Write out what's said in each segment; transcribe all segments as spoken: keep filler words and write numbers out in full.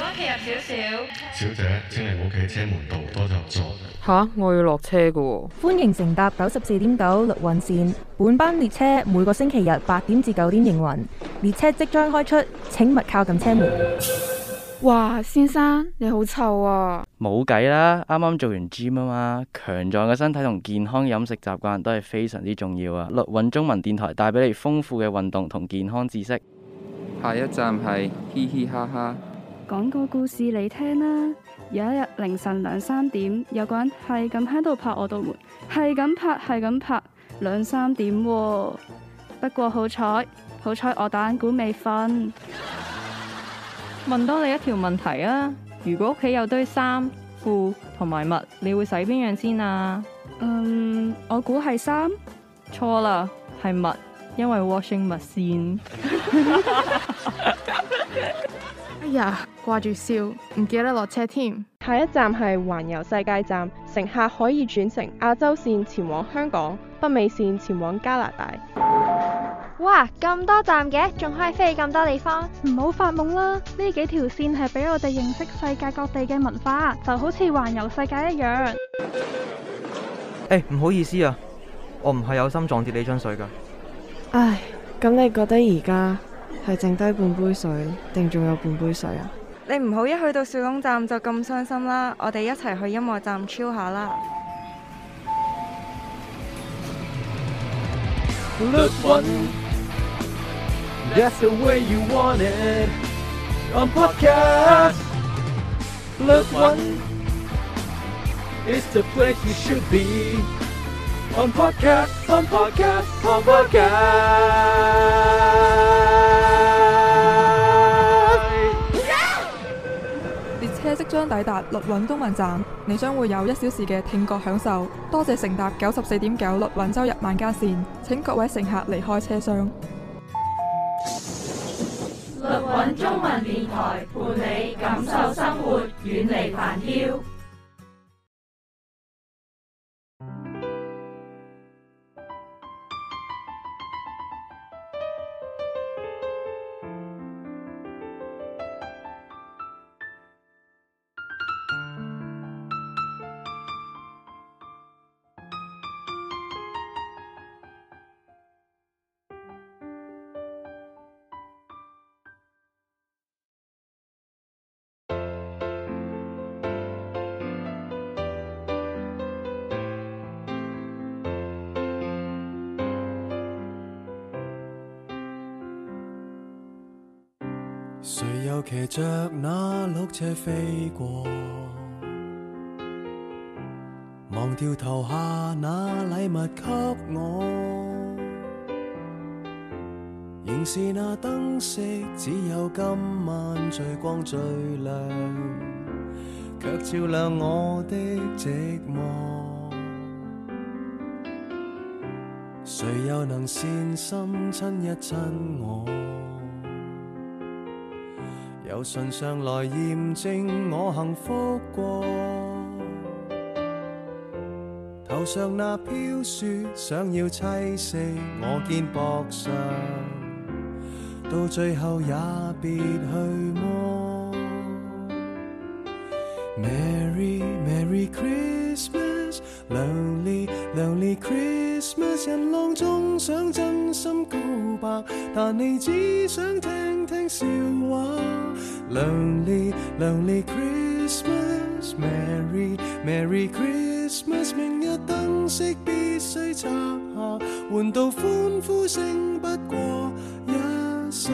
企入少少。 小姐，請你唔好企車門度，多就座。 吓，我要落車㗎喎。 歡迎乘搭九十四點九綠運線，本班列車每個星期日八點至九點營運，列車即將開出，請勿靠近車門。 哇，先生你好臭啊！ 冇計啦，啱啱做完 gym 啊嘛，強壯嘅身體同健康飲食習慣都係非常之重要啊！綠韻中文電台帶俾你豐富嘅運動同健康知識。 下一站係嘻嘻哈哈。 講個故事你聽啦。有一日凌晨兩三點，有個人係咁喺度拍我道門，係咁拍係咁拍，兩三點喎。不過好彩，好彩我打緊鼓未瞓。 問多你一條問題啊！如果屋企有堆衫、褲同埋襪，你會洗邊樣先啊？ 嗯，我估係衫。 錯啦，係襪，因為 washing machine。 哎呀，掛住笑，唔記得落車添。 下一站係環遊世界站，乘客可以轉乘亞洲線前往香港，北美線前往加拿大。 哇，咁多站嘅，仲可以飛去咁多地方？ 唔好發夢啦！呢幾條線係俾我哋認識世界各地嘅文化，就好似環遊世界一樣。 誒，唔好意思啊，我唔係有心撞跌你樽水噶。 唉，咁你覺得而家係剩低半杯水，定仲有半杯水啊？ 你唔好一去到小龍站就咁傷心啦，我哋一齊去音樂站 chill 下啦。 綠韻That's the way you want it on podcast.綠韻 is the place you should be on podcast, on podcast, on podcast. 列車即將抵達綠韻中文站，你將會有一小時嘅聽覺享受。多謝乘搭九十四點九綠韻周日晚間線，請各位乘客離開車廂。 綠韻中文電台伴你感受生活，遠離煩囂。 誰又騎着那綠車飛過，忘掉投下那禮物給我，仍是那燈飾，只有今晚最光最亮，卻照亮我的寂寞。誰又能善心親一親我，由唇上來驗證我幸福過，頭上那飄雪想要棲息我肩膊上，到最後也別去摸。 Merry Merry Christmas Lonely Lonely Christmas 人浪中想真心告白，但你只想聽聽笑話。 Lonely Lonely Christmas Merry Merry Christmas 明日燈飾必須拆下，換到歡呼聲不過一剎。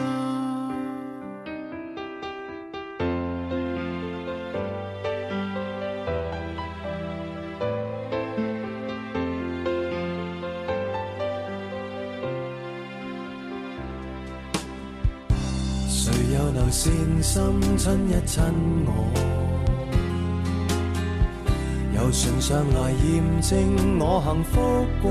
誰又能善心親一親我，由唇上來驗證我幸福過，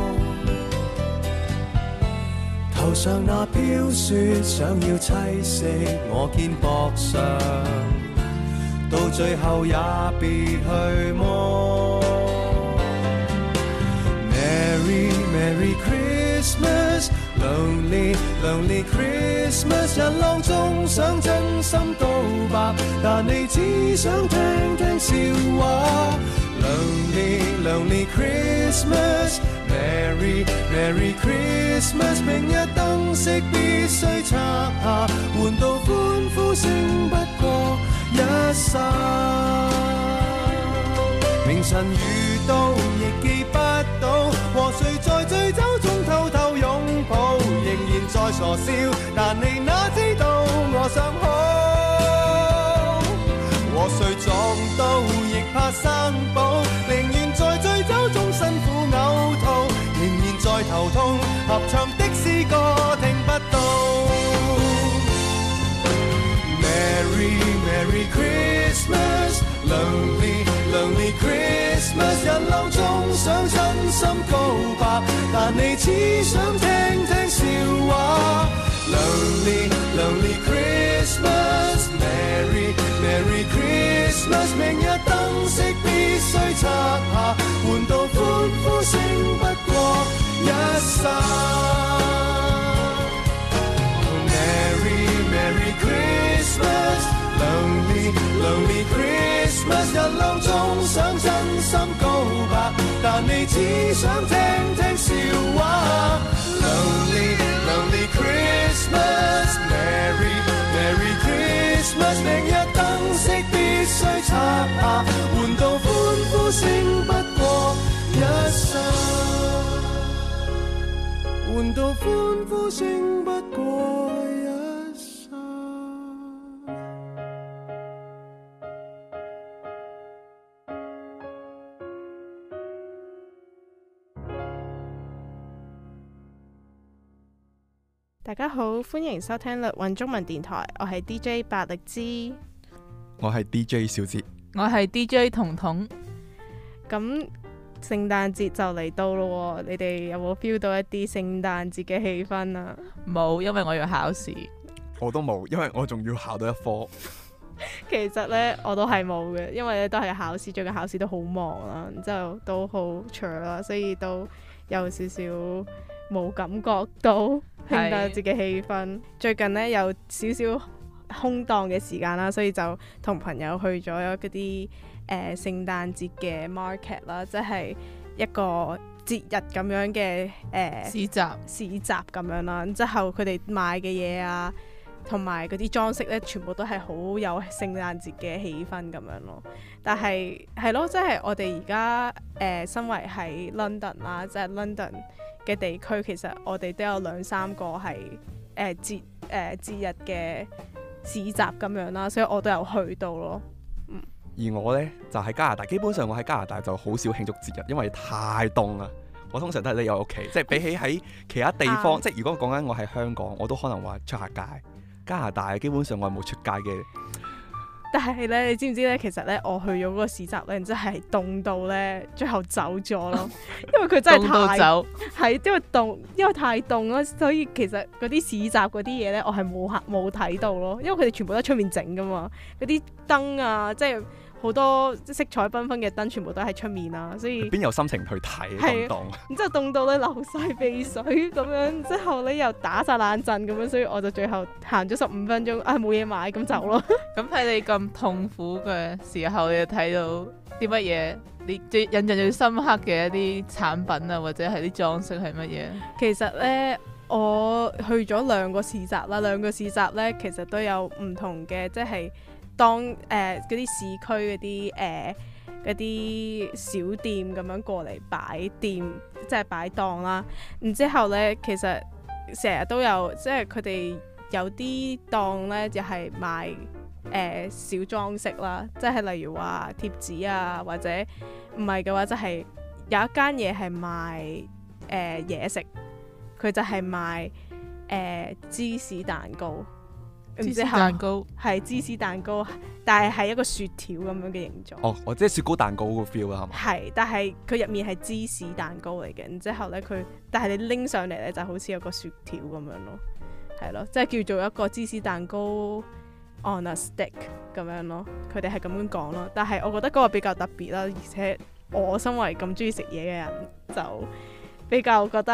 頭上那飄雪想要棲息我肩膊上，到最後也別去摸。 Merry Merry Christmas Lonely Lonely Christmas， 人浪中想真心告白，但你只想聽聽笑話。Lonely Lonely Christmas，Merry Merry Christmas， 明日燈飾必須拆下，換到歡呼聲不過一剎。明晨遇到亦記不到，和誰在醉酒中偷偷擁抱，仍然在傻笑，但你哪知道我想好。和誰撞到亦怕生保，寧願在醉酒中辛苦嘔吐，仍然在頭痛，合唱的詩歌聽不到。Merry Merry Christmas， Lonely Lonely Christmas， 人浪中想真心告白，但你只想聽聽笑話。Lonely Lonely Christmas，Merry Merry Christmas， 明日燈飾必須拆下，換到歡呼聲不過一剎。Merry Merry Christmas，Lonely Lonely Christmas， 人浪中想真心告白，但你只想聽聽笑話。Lonely Lonely Christmas，Merry Merry Christmas， 明日燈飾必須拆下，換到歡呼聲不過一剎，換到歡呼聲不過一剎。 大家好，歡迎收聽律韻中文電台，我係 D J 百力滋， 我係 D J 小哲， 我係 D J 彤彤。 咁聖誕節就嚟到咯，你哋有冇 feel 到一啲聖誕節嘅氣氛啊？ 冇，因為我要考試。 我都冇，因為我仲要考到一科。 其實呢，我都係冇嘅，因為咧都係考試，最近考試都好忙啦，然之後都好長啦，所以都有少少冇感覺到聖誕節嘅氣氛。最近呢，有少少空檔嘅時間啦，所以就同朋友去咗嗰啲誒聖誕節嘅 market 啦，即係一個節日咁樣嘅誒、呃、市集市集咁樣啦。之後佢哋賣嘅嘢啊，同埋嗰啲裝飾咧，全部都係好有聖誕節嘅氣氛咁樣咯。但係係咯，即係我哋而家誒身為喺 London 啦，即係 London嘅地區，其實我哋都有兩三個係誒節誒節日嘅市集咁樣啦，所以我都有去到咯。嗯， 而我呢，就喺加拿大，基本上我喺加拿大就好少慶祝節日，因為太凍啦。我通常都係匿喺屋企，即係比起喺其他地方，啊、即係如果講緊我喺香港，我都可能話出下街。加拿大基本上我係冇出街嘅。 但係咧，你知唔知咧？其實咧，我去咗嗰個市集咧，真係凍到咧，最後走咗咯。因為佢真係太凍，係因為凍，因為太凍咯，所以其實嗰啲市集嗰啲嘢咧，我係冇冇睇到咯。因為佢哋全部都喺出面整噶嘛，嗰啲燈啊，即係好多色彩繽紛嘅燈，全部都喺出面啊，所以邊有心情去睇咁凍？ 然之後凍到咧流晒鼻水咁樣，之後咧又打晒冷震咁樣，所以我就最後行咗十五分鐘，啊冇嘢買咁走咯。 咁喺你咁痛苦嘅時候，你睇到啲乜嘢？你最印象最深刻嘅一啲產品啊，或者係啲裝飾係乜嘢？ 其實咧，我去咗兩個市集啦，兩個市集咧其實都有唔同嘅，即係。當誒嗰啲市區嗰啲誒嗰啲小店咁樣過嚟擺店，即係擺檔啦。然之後呢，其實成日都有，即係佢哋有啲檔呢，就係賣誒小裝飾啦，即係例如話貼紙啊，或者唔係嘅話，就係有一間嘢係賣誒嘢食，佢就係賣誒、呃、芝士蛋糕。芝士蛋糕係芝士蛋糕，但係係一個雪條咁樣嘅形狀。 哦，我即係雪糕蛋糕個 feel 啦，係嘛？ 係，但係佢入面係芝士蛋糕嚟嘅。然之後咧，佢但係你拎上嚟咧，就好似有個雪條咁樣咯，係咯，即係叫做一個芝士蛋糕 on a stick 咁樣咯。佢哋係咁樣講咯。但係我覺得嗰個比較特別啦，而且我身為咁中意食嘢嘅人，就比較覺得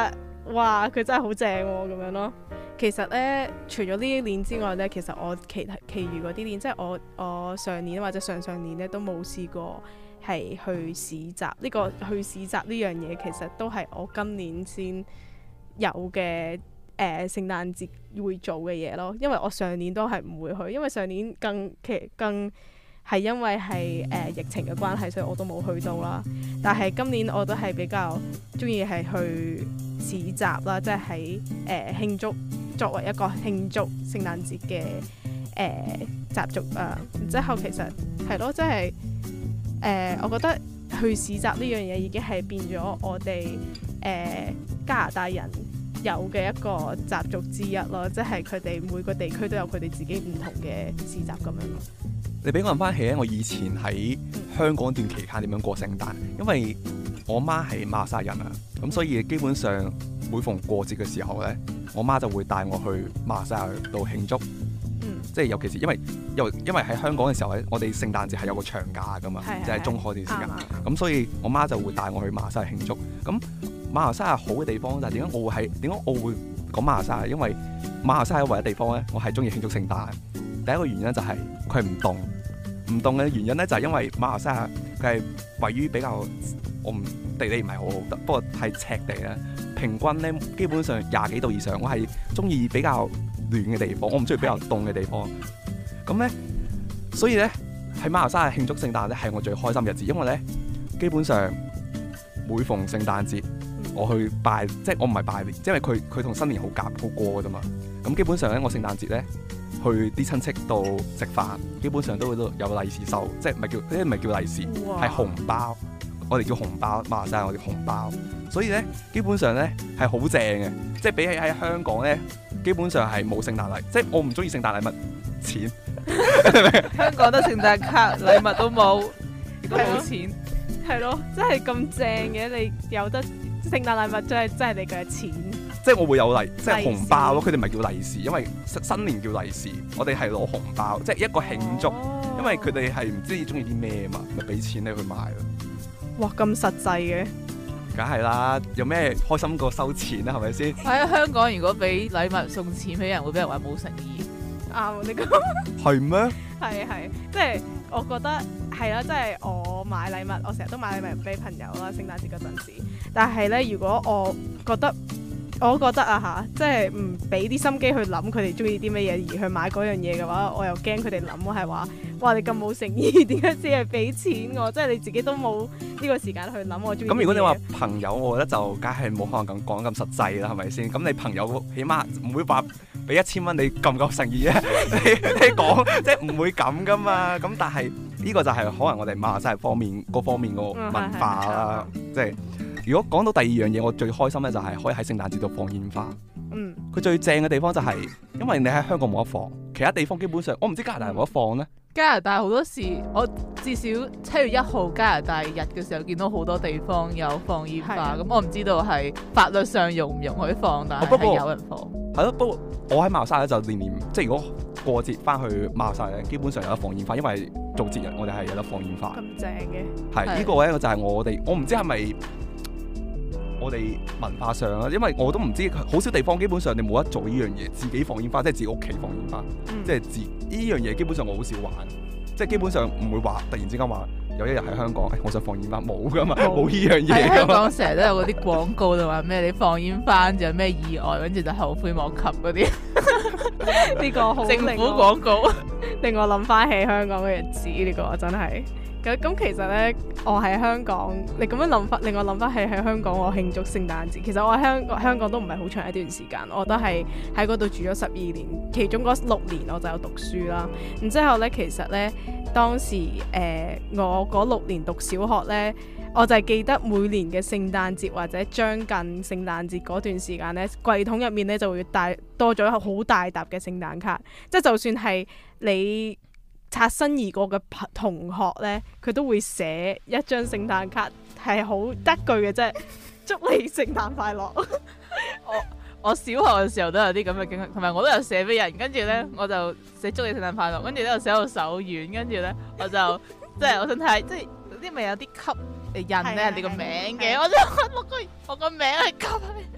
哇佢真係好正喎咁樣咯。其實咧，除咗呢啲鏈之外咧，其實我其他其餘嗰啲鏈，即係我我上年或者上上年咧都冇試過係去市集。呢、這個去市集呢樣嘢其實都係我今年先有嘅誒、呃、聖誕節會做嘅嘢咯。因為我上年都係唔會去，因為上年更其更係因為係誒、呃、疫情嘅關係，所以我都冇去到啦。但係今年我都係比較中意係去市集啦，即係喺誒慶祝。作為一個慶祝聖誕節嘅誒習俗啊，然之後其實係咯，即係誒，我覺得去市集呢樣嘢已經係變咗我哋誒、呃、加拿大人有嘅一個習俗之一咯，即係佢哋每個地區都有佢哋自己唔同嘅市集咁樣。 你俾我諗翻起咧，我以前喺香港段期間點樣過聖誕，因為我媽係馬來西亞人啊，咁所以基本上每逢過節嘅時候咧，我媽就會帶我去馬來西亞度慶祝，嗯、即係尤其是因為因為因為喺香港嘅時候咧，我哋聖誕節係有個長假噶嘛，即係中海段時間，咁所以我媽就會帶我去馬來西亞慶祝。咁馬來西亞好嘅地方就係點解我會係點解我會講馬來西亞？因為馬來西亞唯一地方咧，我係中意慶祝聖誕。第一個原因就係佢係唔凍，唔凍嘅原因咧就係因為馬來西亞佢係位於比較我唔地理唔係好好得，不過係赤地咧。平均咧基本上廿幾度以上，我係中意比較暖嘅地方，我唔中意比較凍嘅地方。咁咧，所以咧喺馬來西亞慶祝聖誕咧係我最開心嘅日子，因為咧基本上每逢聖誕節，我去拜，即係我唔係拜年，因為佢佢同新年好夾好過㗎啫嘛。咁基本上咧，我聖誕節咧去啲親戚度食飯，基本上都會都有利是收，即係唔係叫嗰啲唔係叫利是，係紅包。我哋叫紅包，馬來西亞我哋紅包，所以咧基本上咧係好正嘅，即係比起喺香港咧，基本上係冇聖誕禮，即係我唔中意聖誕禮物錢。 香港得聖誕卡，禮物都冇，亦都冇錢。 係咯，真係咁正嘅，你有得聖誕禮物真係真係你嘅錢。 即係我會有利，即係紅包咯。佢哋唔係叫利是，因為新年叫利是，我哋係攞紅包，即係一個慶祝。哦、因為佢哋係唔知中意啲咩嘛，咪俾錢你去買咯。 哇，咁實際嘅， 梗係啦，有咩開心過收錢啦，係咪先？ 喺香港如果俾禮物送錢俾人，會俾人話冇誠意。 啱，你講係咩？ 係係，即係我覺得係啦，即係我買禮物，我成日都買禮物俾朋友啦，聖誕節嗰陣時。但係咧，如果我覺得我覺得啊嚇，即係唔俾啲心機去諗佢哋中意啲乜嘢而去買嗰樣嘢嘅話，我又驚佢哋諗我係話，哇你咁冇誠意，點解只係俾錢我？即係你自己都冇呢個時間去諗我中意。咁如果你話朋友，我覺得就梗係冇可能咁講咁實際啦，係咪先？咁你朋友起碼唔會話俾一千蚊你夠唔夠誠意啊？你你講即係唔會咁噶嘛？咁但係呢個就係可能我哋馬來西亞方面嗰方面個文化啦，即係。如果講到第二樣嘢，我最開心咧就係可以喺聖誕節度放煙花。嗯，佢最正嘅地方就係、是，因為你喺香港冇得放，其他地方基本上我唔知加拿大有冇得放咧。 加拿大好多時，我至少七月一號加拿大日嘅時候見到好多地方有放煙花，咁的我唔知道係法律上容唔容許放，但係係有人放。係咯，不過我喺馬來西亞咧就年年，即係如果過節翻去馬來西亞咧，基本上有得放煙花，因為做節日我哋係有得放煙花。咁正嘅。係呢、呢個咧就係我哋，我唔知係咪。我哋文化上啊，因為我都唔知，好少地方基本上你冇得做呢樣嘢，自己放煙花，即係自己屋企放煙花，嗯、即係自呢樣嘢基本上我好少玩，即係基本上唔會話突然之間話有一日喺香港，哎、我想放煙花，冇噶嘛，冇呢樣嘢。喺香港成日都有嗰啲廣告就話咩你放煙花就有咩意外，跟住就後悔莫及嗰啲。 呢個好政府廣告， 令我諗翻起香港嘅日子，呢、呢個真係。咁咁其實咧，我喺香港，你咁樣諗翻，令我諗翻起喺香港我慶祝聖誕節。其實我喺香香港都唔係好長一段時間，我都係喺嗰度住咗十二年，其中嗰六年我就有讀書啦。然之後咧，其實咧當時誒、呃、我嗰六年讀小學咧，我就係記得每年嘅聖誕節或者將近聖誕節嗰段時間咧，櫃桶入面咧就會帶多咗好大沓嘅聖誕卡，即係就算係你擦身而過嘅同學咧，佢都會寫一張聖誕卡，係好得句嘅啫，祝你聖誕快樂。 我我小學嘅時候都有啲咁嘅經歷，同埋我都有寫俾人，跟住咧我就寫祝你聖誕快樂，跟住咧又寫到手軟，跟住咧我就即係我想睇，即係啲咪有啲吸印咧人哋個名嘅，我就碌個我個名係吸，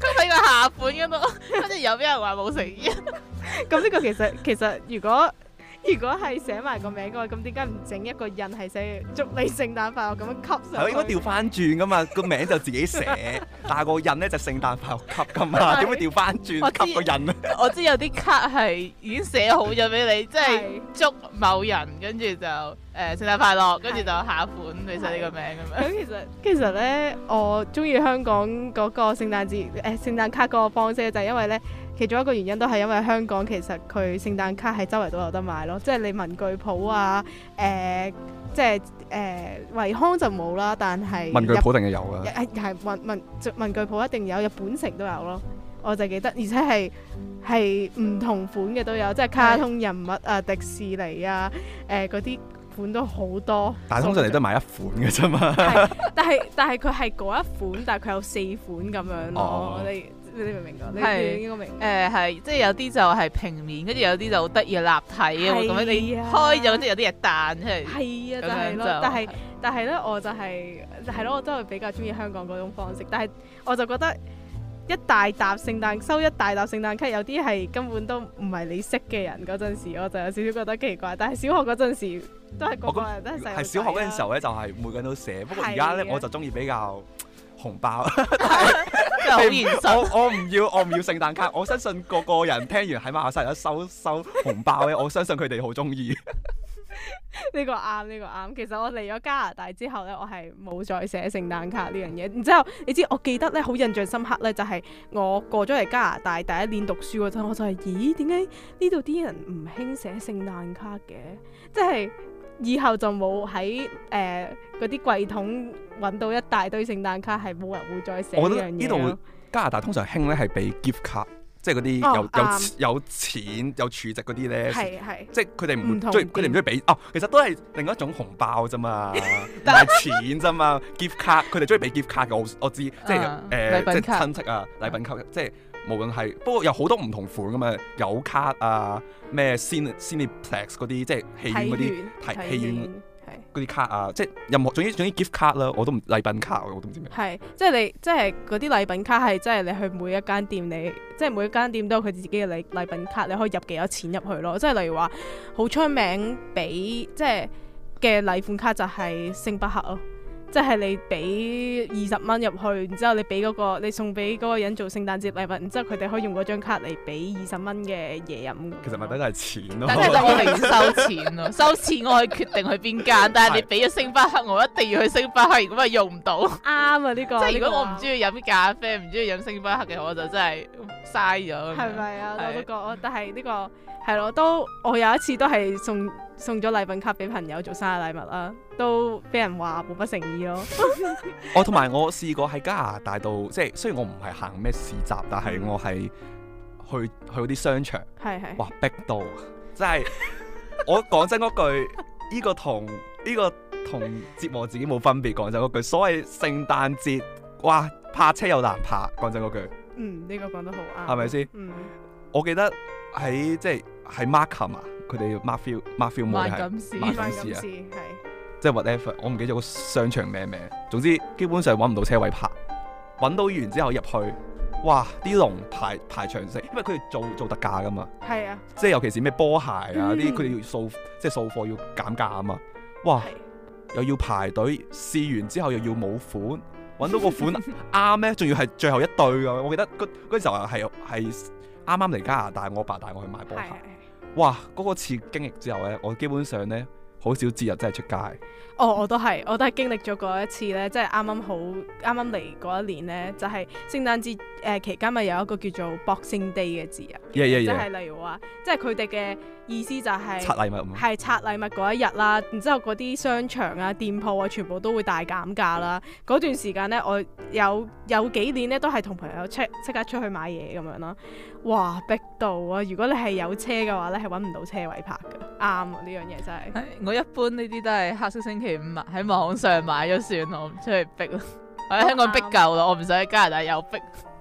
喺個下款嗰度，跟住又俾人話冇誠意。 咁呢個其實其實如果如果係寫埋個名嘅話，咁點解唔整一個印係寫祝你聖誕快樂咁樣吸上去？ 係應該調翻轉噶嘛，個名就自己寫，但係個印咧就聖誕快樂吸噶嘛，點會調翻轉吸個印咧？ 我知有啲卡係已經寫好咗俾你，即係祝某人，跟住就誒聖誕快樂，跟住就下款你寫呢個名咁樣。 咁其實其實咧，我中意香港嗰個聖誕節誒聖誕卡嗰個方式，就係因為咧。其中一個原因都係因為香港其實佢聖誕卡喺周圍都有得買咯，即係你文具鋪啊，誒、呃，即係誒惠康就冇啦，但係文具鋪定係有㗎， 係係文文文具鋪一定有，日本城都有咯，我就記得，而且係係唔同款嘅都有，即係卡通人物啊、迪士尼啊，誒嗰啲款都好多。 但係通常你都買一款嘅啫嘛。 但係但係佢係嗰一款，但係佢有四款咁樣咯，哦、你。你明唔明㗎？你應該明。 誒係，即係有啲就係平面，跟住有啲就好得意立體啊，咁樣你開咗，即係有啲嘢彈出嚟。 係啊，就係咯。但係但係咧，我就係係咯，我真係比較中意香港嗰種方式。但係我就覺得一大沓聖誕收一大沓聖誕卡，有啲係根本都唔係你識嘅人嗰陣時，我就有少少覺得奇怪。但係小學嗰陣時都係個個人都係細路仔。係小學嗰陣時候咧，就係每個人都寫。不過而家咧，我就中意比較紅包。 好現實。 我我唔要我唔要聖誕卡，我相信個個人聽完喺馬來西亞收收紅包咧，我相信佢哋好中意。 呢個啱，呢個啱。其實我嚟咗加拿大之後咧，我係冇再寫聖誕卡呢樣嘢。然之後你知我記得咧好印象深刻咧，就係我過咗嚟加拿大第一年讀書嗰陣，我就係咦點解呢度啲人唔興寫聖誕卡嘅？即係以後就冇喺誒嗰啲櫃桶揾到一大堆聖誕卡，係冇人會再寫呢樣嘢。我覺得呢度加拿大通常興咧係俾 gift 卡，即係嗰啲有、哦、有有，有錢有儲值嗰啲咧，即係佢哋唔中意，佢哋唔中意俾哦。其實都係另一種紅包啫嘛，唔係錢啫嘛。gift 卡佢哋中意俾 gift 卡嘅，我我知，即係誒、呃、即係親戚啊，禮品卡，即係無論係不過有好多唔同款噶嘛，有卡啊，咩 Cineplex 嗰啲，即係戲院嗰啲睇戲院。嗰啲卡啊，即係任何總之總之 gift 卡啦，我都唔禮品卡我都唔知咩。 係，即係你即係嗰啲禮品卡係即係你去每一間店你，你即係每一間店都有佢自己嘅禮禮品卡，你可以入幾多錢入去咯。即係例如話好出名俾即係嘅禮款卡就係星巴克咯。即係你俾二十蚊入去，然之後你俾嗰、嗰個你送俾嗰個人做聖誕節禮物，然之後佢哋可以用嗰張卡嚟俾二十蚊嘅嘢飲。其實咪等係錢咯， 但係我哋要收錢咯，收錢我可以決定去邊間，但係你俾咗星巴克，我一定要去星巴克，如果咪用唔到。啱啊呢、呢個， 即係如果我唔中意飲咖啡，唔中意飲星巴克嘅，我就真係嘥咗。 係咪啊？我都覺，但係呢、呢個係咯，都我有一次都係送送咗禮品卡俾朋友做生日禮物啦，都俾人話冇乜誠意咯。 我同埋我試過喺加拿大度，即係雖然我唔係行咩市集，但係我係去去嗰啲商場， 係係， 哇逼到，真係我講真嗰句，呢個同呢個同折磨自己冇分別。講真嗰句，所謂聖誕節，哇泊車又難泊，講真嗰句。 嗯，呢個講得好啱， 係咪先？ 嗯， 我記得喺即係喺 Markham 啊，佢哋 Markfield Markfield 冇係萬錦市啊，係。 即係 whatever，我唔記得咗個商場咩名。總之基本上揾唔到車位泊，揾到完之後入去，哇！啲龍排排長成，因為佢哋做做特價噶嘛。係啊。即係尤其是咩波鞋啊啲，佢哋、嗯、要掃即係掃貨要減價啊嘛。哇！又要排隊，試完之後又要冇款，揾到個款啱咧，仲要係最後一對噶。我記得嗰嗰陣時候係係啱啱嚟加拿大，我爸帶我去買波鞋。哇！嗰、嗰個次經歷之後咧，我基本上咧。好少節日真係出街。 哦，我都係，我都係經歷咗嗰一次咧，即係啱啱好啱啱嚟嗰一年咧，就係、是、聖誕節誒、呃、期間咪有一個叫做 Boxing Day 嘅節日， yeah, yeah, yeah. 即係例如話，即係佢哋嘅意思就係、是、 拆禮物， 係拆禮物嗰一日啦。然之後嗰啲商場啊、店鋪啊，全部都會大減價啦。嗰段時間咧，我有有幾年咧都係同朋友即即刻出去買嘢咁樣啦。哇，逼到啊！如果你係有車嘅話咧，係揾唔到車位泊嘅。啱啊，呢樣嘢真係。 我一般呢啲都係黑色星期五啊，喺網上買咗算，我唔出去逼咯。我喺香港逼夠啦，我唔想喺加拿大又逼。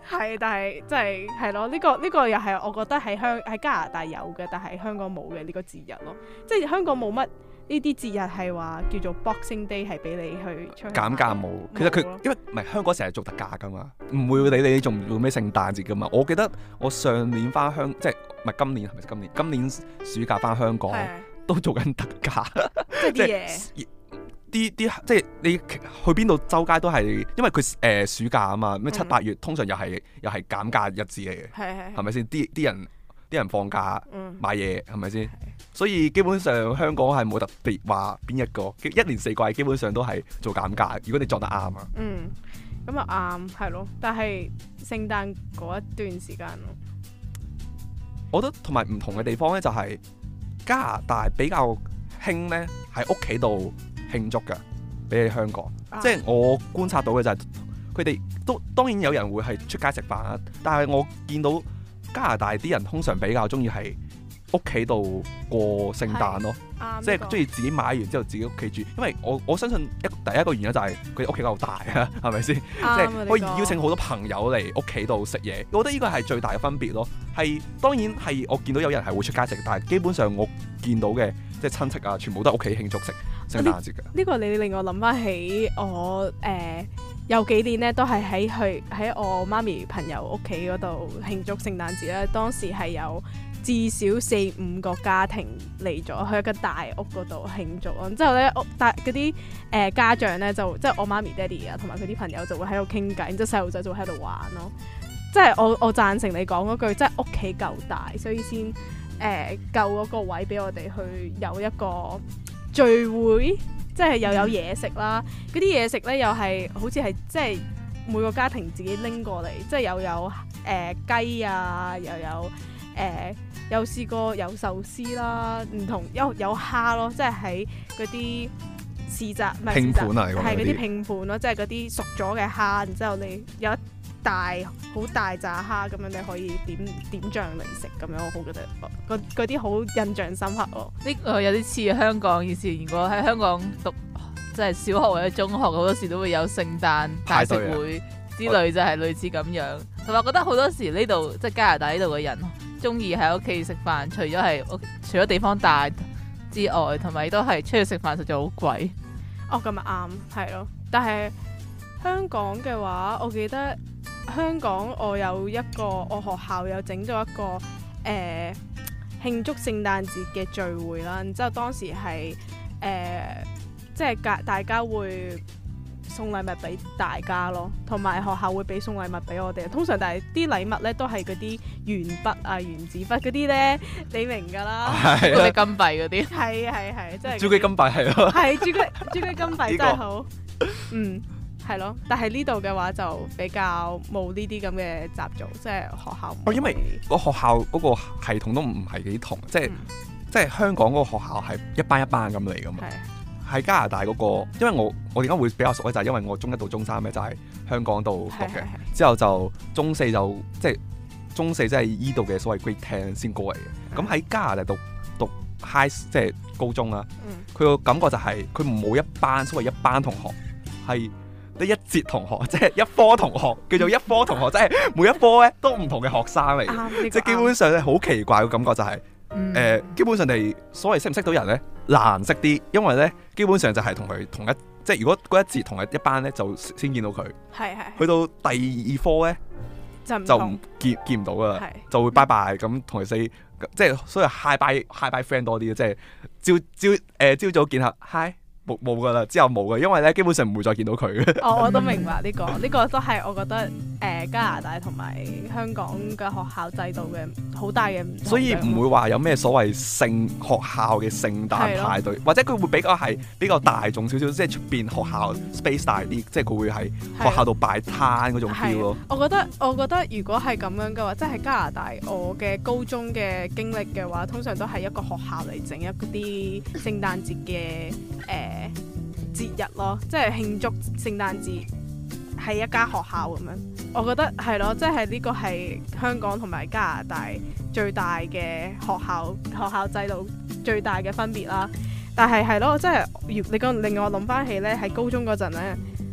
係，但係即係係咯，呢、這個呢、這個又係我覺得喺香喺加拿大有嘅，但係香港冇嘅呢個節日咯。即係香港冇乜呢啲節日係話叫做 Boxing Day 係俾你去出去減價冇。其實佢因為唔係香港成日做特價噶嘛，唔會理你做唔做咩聖誕節噶嘛。我記得我上年翻香即係唔係今年係咪今年？今年暑假翻香港都做緊特價，即係啲嘢。啲啲即係你去邊度周街都係，因為佢誒、呃、暑假啊嘛，咩七八月、嗯、通常又係又係減價日子嚟嘅，係係咪先？啲啲人啲人放假、嗯、買嘢係咪先？所以基本上香港係冇特別話邊一個，一年四季基本上都係做減價。如果你做得啱啊， 嗯，咁啊啱係咯。但係聖誕嗰一段時間咯， 我覺得同埋唔同嘅地方咧，就係加拿大比較興咧喺屋企度慶祝嘅，比起香港，啊、即係我觀察到嘅就係佢哋都當然有人會係出街食飯啦，但係我見到加拿大啲人通常比較中意係屋企度過聖誕咯，即係中意自己買完之後自己屋企住，因為我我相信一第一個原因就係佢哋屋企夠大啊，係咪先？即係可以邀請好多朋友嚟屋企度食嘢，我覺得呢個係最大嘅分別咯。係當然係我見到有人係會出街食，但係基本上我見到嘅即係親戚啊，全部都係屋企慶祝食聖誕節嘅。呢、 這個你令我諗翻起我誒、呃、有幾年咧，都係喺去喺我媽咪朋友屋企嗰度慶祝聖誕節咧。當時係有至少四五個家庭嚟咗去一個大屋嗰度慶祝咯。之後咧，屋大嗰啲誒家長咧就即係我媽咪爹哋啊，同埋佢啲朋友就會喺度傾偈，然之後細路仔就會喺度玩咯。即係我我贊成你講嗰句，即係屋企夠大，所以先誒夠嗰個位俾我哋去有一個聚會，即係又有嘢食啦。嗰啲嘢食咧又係好似係即係每個家庭自己拎過嚟，即係又有誒、呃、雞啊，又有誒、呃、有試過有壽司啦，唔同有有蝦咯，即係喺嗰啲市集唔係拼盤啊，係嗰啲拼盤咯，即係嗰啲熟咗嘅蝦，然之後你有一大好大扎蝦咁樣，你可以點點醬嚟食咁樣，我好覺得嗰啲好印象深刻咯。 呢個有啲似香港以前，如果喺香港讀即係小學或者中學，好多時都會有聖誕大食會之類，就係類似咁樣。同埋我覺得好多時呢度即係加拿大呢度嘅人中意喺屋企食飯，除咗係除咗地方大之外，同埋都係出去食飯實在好貴。 哦，咁啊啱，係咯。但係香港嘅話，我記得。香港我有一個我學校有整咗一個誒、呃、慶祝聖誕節嘅聚會啦，然之後當時係誒、呃、即係大大家會送禮物俾大家咯，同埋學校會俾送禮物俾我哋。通常但係啲禮物咧都係嗰啲鉛筆啊、原子筆嗰啲咧，你明㗎啦， 嗰啲金幣嗰啲。 係係係，即係朱古力金幣係咯。係朱古力朱古力金幣真係好，嗯。係咯，但係呢度嘅話就比較冇呢啲咁嘅習俗，即係學校。 哦，因為個學校嗰個系統都唔係幾同，即係、嗯、即係香港嗰個學校係一班一班咁嚟噶嘛。喺加拿大嗰個，因為我我點解會比較熟咧，就係因為我中一到中三咧就喺香港度讀嘅，之後就中四就即係中四即係依度嘅所謂 Grade Ten 先過嚟嘅。咁喺加拿大讀讀 high 即係高中啦，佢個感覺就係佢冇一班所謂一班同學係。一節同學，即係一科同學，叫做一科同學，即係每一科咧都唔同嘅學生嚟嘅，嗯、即係基本上咧好奇怪嘅感覺就係、是，誒、嗯呃，基本上你所謂識唔識到人咧難識啲，因為咧基本上就係同佢同一，即係如果嗰一節同一一班咧就先見到佢，係係，去到第二科咧就就唔見見唔到噶啦，就會拜拜咁同佢 say，即係所以 hi bye hi bye friend 多啲，即係朝朝誒朝早見下 hi。冇冇噶啦，之後冇噶，因為咧基本上唔會再見到佢嘅。 哦，我都明白呢、這個，呢個都係我覺得誒、呃、加拿大同埋香港嘅學校制度嘅好大嘅唔同。 所以唔會話有咩所謂聖學校嘅聖誕派對，或者佢會比較係比較大眾少少，即係出邊學校 space 大啲，即係佢會喺學校度擺攤嗰種 feel 咯。 我覺得我覺得如果係咁樣嘅話，即係喺加拿大我嘅高中嘅經歷嘅話，通常都係一個學校嚟整一啲聖誕節嘅誒。呃節日咯，即係慶祝聖誕節喺一間學校咁樣，我覺得係咯，即係呢個係香港同埋加拿大最大嘅學校學校制度最大嘅分別啦。但係係咯，即係你講令我諗翻起咧，喺高中嗰陣咧，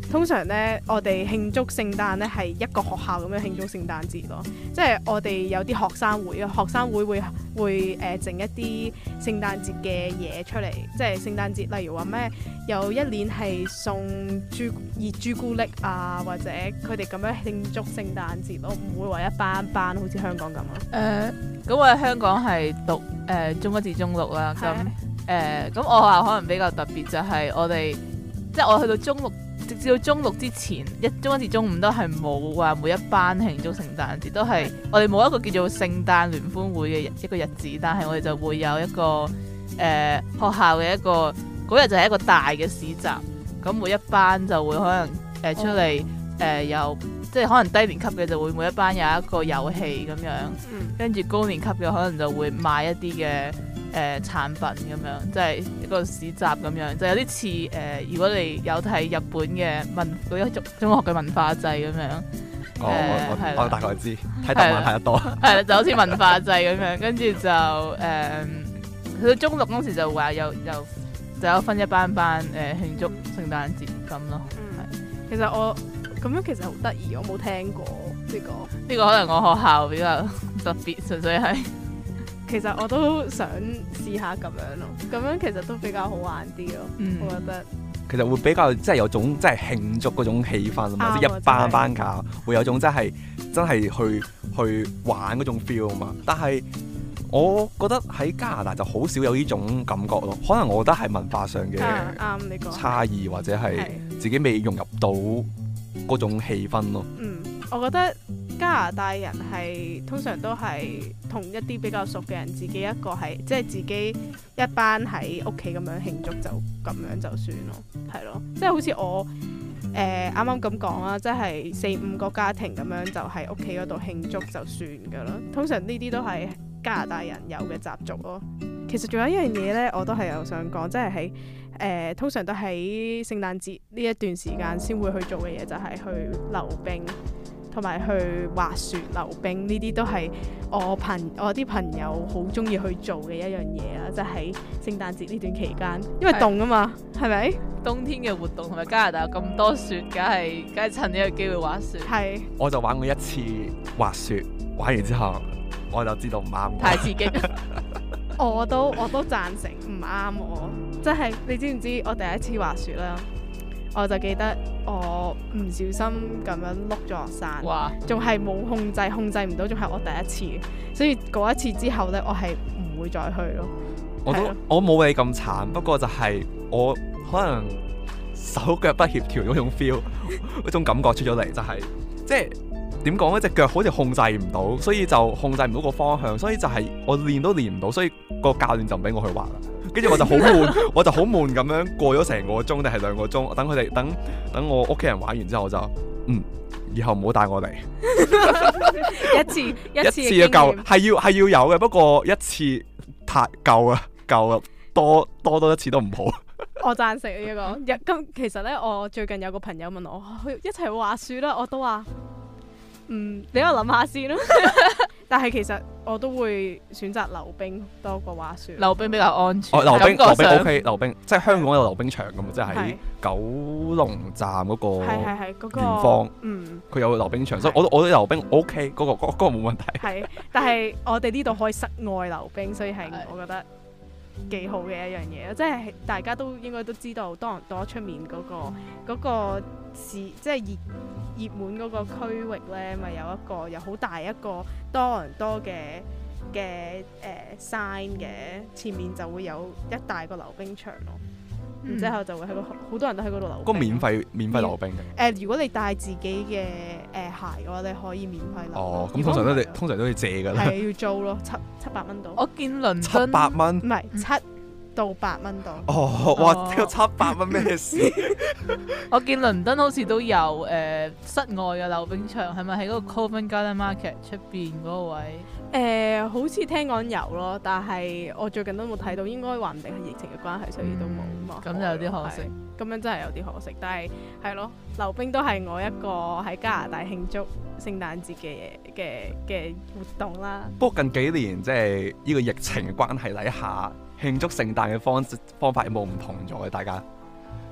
通常咧，我哋慶祝聖誕咧係一個學校咁樣慶祝聖誕節咯。即係我哋有啲學生會啊，學生會會會誒整、呃、一啲聖誕節嘅嘢出嚟。即係聖誕節，例如話咩有一年係送朱熱朱古力啊，或者佢哋咁樣慶祝聖誕節咯，唔會話一班一班好似香港咁啊。誒、 呃，咁我喺香港係讀誒、呃、中一至中六啦。咁誒咁我學校可能比較特別，就係我哋即係我去到中六。直至到中六之前，一中一至中五都係冇話每一班慶祝聖誕節，都係我哋冇一個叫做聖誕聯歡會嘅一個日子，但係我哋就會有一個誒、呃、學校嘅一個嗰日就係一個大嘅市集，咁每一班就會可能誒、呃、出嚟誒、呃、有即係可能低年級嘅就會每一班有一個遊戲咁樣，跟住高年級嘅可能就會買一啲嘅。誒、呃、產品咁樣，即係一個市集咁樣，就有啲似誒，如果你有睇日本嘅文嗰啲中中學嘅文化祭咁樣。 哦，呃、我我，我大概知，睇動漫睇得多。 係啦，就好似文化祭咁樣，跟住就誒，去、呃、到中六嗰時就話有有就有分一班班誒、呃、慶祝聖誕節咁咯。 嗯，其實我咁樣其實好得意，我冇聽過呢、呢個。 呢個可能我學校比較特別，純粹係。 其實我都想試下咁樣咯，咁樣其實都比較好玩啲咯，嗯、我覺得。 其實會比較即係有種即係慶祝嗰種氣氛啊嘛，即係一班班教會有種真係真係去去玩嗰種 feel 啊嘛。但係我覺得喺加拿大就好少有呢種感覺咯，可能我覺得係文化上嘅差異，或者係自己未融入到嗰種氣氛咯。 嗯，我覺得。加拿大人係通常都係同一啲比較熟嘅人，自己一個係即係自己一班喺屋企咁樣慶祝就咁樣就算咯，係咯，即係好似我誒啱啱咁講啦，即係四五個家庭咁樣就喺屋企嗰度慶祝就算噶啦。通常呢啲都係加拿大人有嘅習俗咯。其實仲有一樣嘢呢，我都係有想講，即係喺誒通常都喺聖誕節呢一段時間先會去做嘅嘢，就係、是、去溜冰。同埋去滑雪、溜冰呢啲都係我朋我啲朋友好中意去做嘅一樣嘢啦，即係喺聖誕節呢段期間，因為凍啊嘛，係咪？ 冬天嘅活動同埋加拿大有咁多雪，梗係梗係趁呢個機會滑雪。係。我就玩過一次滑雪，玩完之後我就知道唔啱我。 太刺激。 我都我都贊成唔啱我，即係你知唔知我第一次滑雪啦？我就記得我唔小心咁樣碌咗落山，仲係冇控制，控制唔到，仲係我第一次，所以嗰一次之後呢，我係唔會再去咯。 我都我冇你咁慘，不過就係我可能手腳不協調嗰種 feel， 嗰種感覺出咗嚟，就係即係點講呢？隻腳好似控制唔到，所以就控制唔到個方向，所以就係我練都練唔到，所以個教練就唔俾我去滑啦。跟住我就好悶，我就好悶咁樣過咗成個鐘定係兩個鐘，等佢哋等等我屋企人玩完之後，我就嗯，以後唔好帶我嚟。 一次一次嘅夠，係要係要有嘅，不過一次太夠啊，夠啊，多多多一次都唔好。 我贊成呢個。咁其實咧，我最近有個朋友問我去一齊滑雪啦，我都話嗯，你喺度諗下先啦。但係其實我都會選擇溜冰多過滑雪。 溜冰比較安全。 哦，溜冰溜冰 OK， 溜冰即係香港有溜冰場㗎嘛，即係喺九龍站嗰個圓方，嗯，佢有溜冰場，所以我都我都溜冰 OK， 嗰個嗰嗰個冇問題。係， 但係我哋呢度可以室外溜冰，所以係我覺得幾好嘅一樣嘢，即係大家都應該都知道，多倫多出面嗰個嗰個市，即係熱熱門嗰個區域咧，咪有一個有好大一個多倫多嘅嘅誒 sign 嘅，前面就會有一大個溜冰場咯。然之後就會喺個好多人都喺嗰度溜冰。 嗰個免費免費溜冰嘅。 誒，如果你帶自己嘅誒鞋嘅話，你可以免費溜。 哦，咁通常都你通常都要借㗎啦。 係要租咯，七七百蚊到。 我見倫敦七百蚊， 唔係七到八蚊到。 哦，哇！呢個七百蚊咩事？ 我見倫敦好似都有誒室外嘅溜冰場，係咪喺嗰個 Covent Garden Market 出邊嗰個位？ 誒、呃，好似聽講有咯，但係我最近都冇睇到，應該話唔定係疫情嘅關係，所以都冇。咁、嗯、就有啲可惜。咁樣真係有啲可惜，但係係咯，溜冰都係我一個喺加拿大慶祝聖誕節嘅嘅嘅活動啦。 不過近幾年即係呢個疫情嘅關係底下，慶祝聖誕嘅方方法有冇唔同咗嘅？大家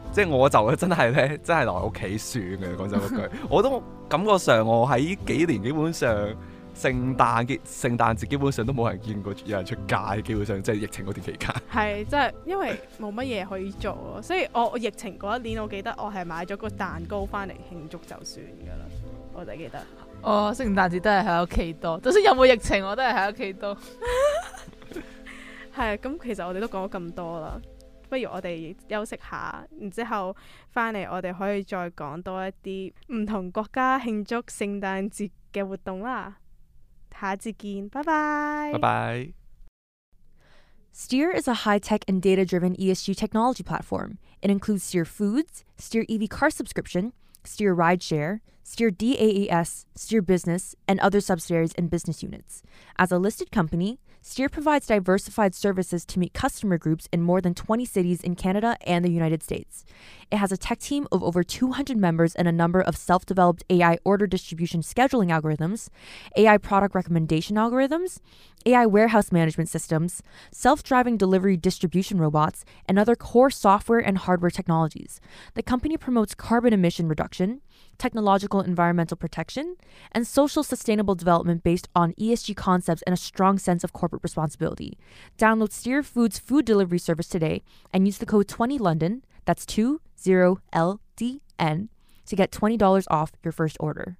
即係我就真係咧，真係留喺屋企算嘅。講真嗰句，我都感覺上我喺呢幾年基本上聖誕節、聖誕節基本上都冇人見過有人出街，基本上即係疫情嗰段期間。 係，即係因為冇乜嘢可以做咯，所以我我疫情嗰一年，我記得我係買咗個蛋糕翻嚟慶祝就算噶啦，我就記得。 哦，聖誕節都係喺屋企多，就算有冇疫情，我都係喺屋企多。 係，咁其實我哋都講咗咁多啦。不如我哋休息下，然之後翻嚟我哋可以再講多一啲唔同國家慶祝聖誕節嘅活動啦。下一節見，拜拜。 拜拜。 Steer is a high-tech and data-driven E S G technology platform. It includes Steer Foods, Steer E V car subscription, Steer Rideshare, Steer D A A S, Steer Business, and other subsidiaries and business units. As a listed company, Steer provides diversified services to meet customer groups in more than twenty cities in Canada and the United States. It has a tech team of over two hundred members and a number of self-developed A I order distribution scheduling algorithms, A I product recommendation algorithms, A I warehouse management systems, self-driving delivery distribution robots, and other core software and hardware technologies. The company promotes carbon emission reduction, technological environmental protection, and social sustainable development based on E S G concepts and a strong sense of corporate responsibility. Download Steer Foods food delivery service today and use the code twenty London, that's two zero L D N, to get twenty dollars off your first order.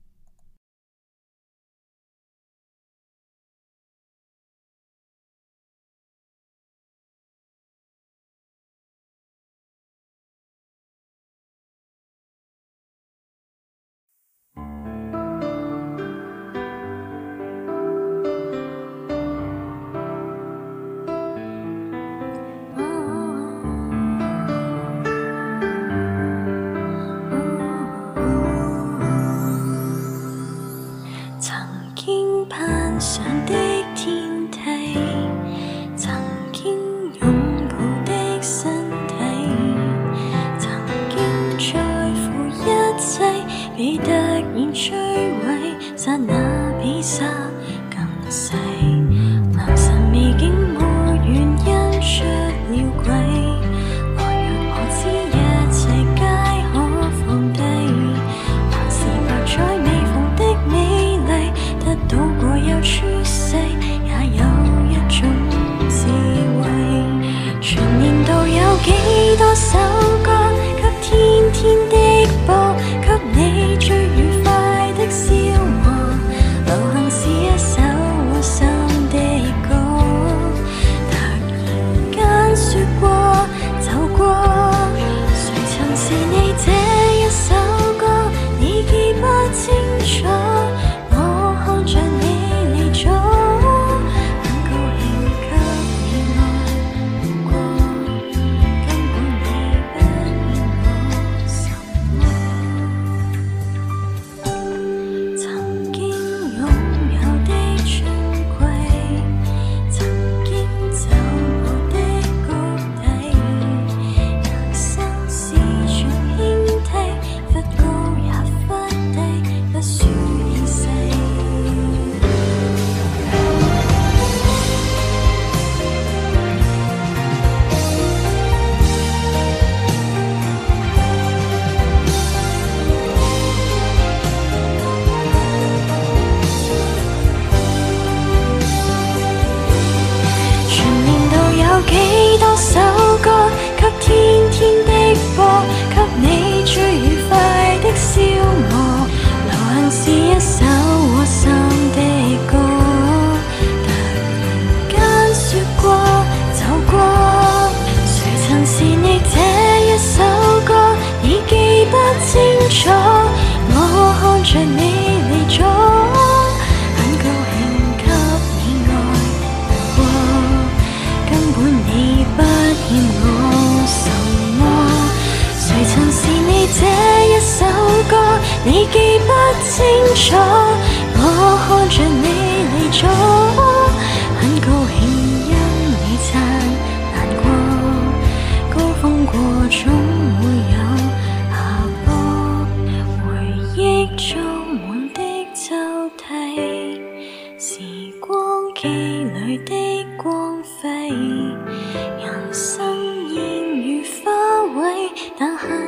Thank you.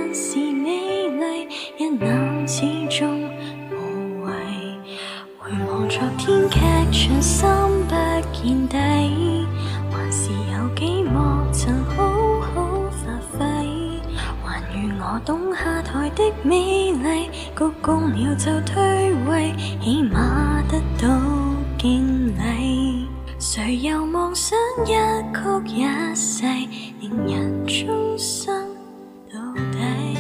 我懂下台的美麗，鞠躬了就退位，起碼得到敬禮。誰又妄想一曲一世，令人終生到底。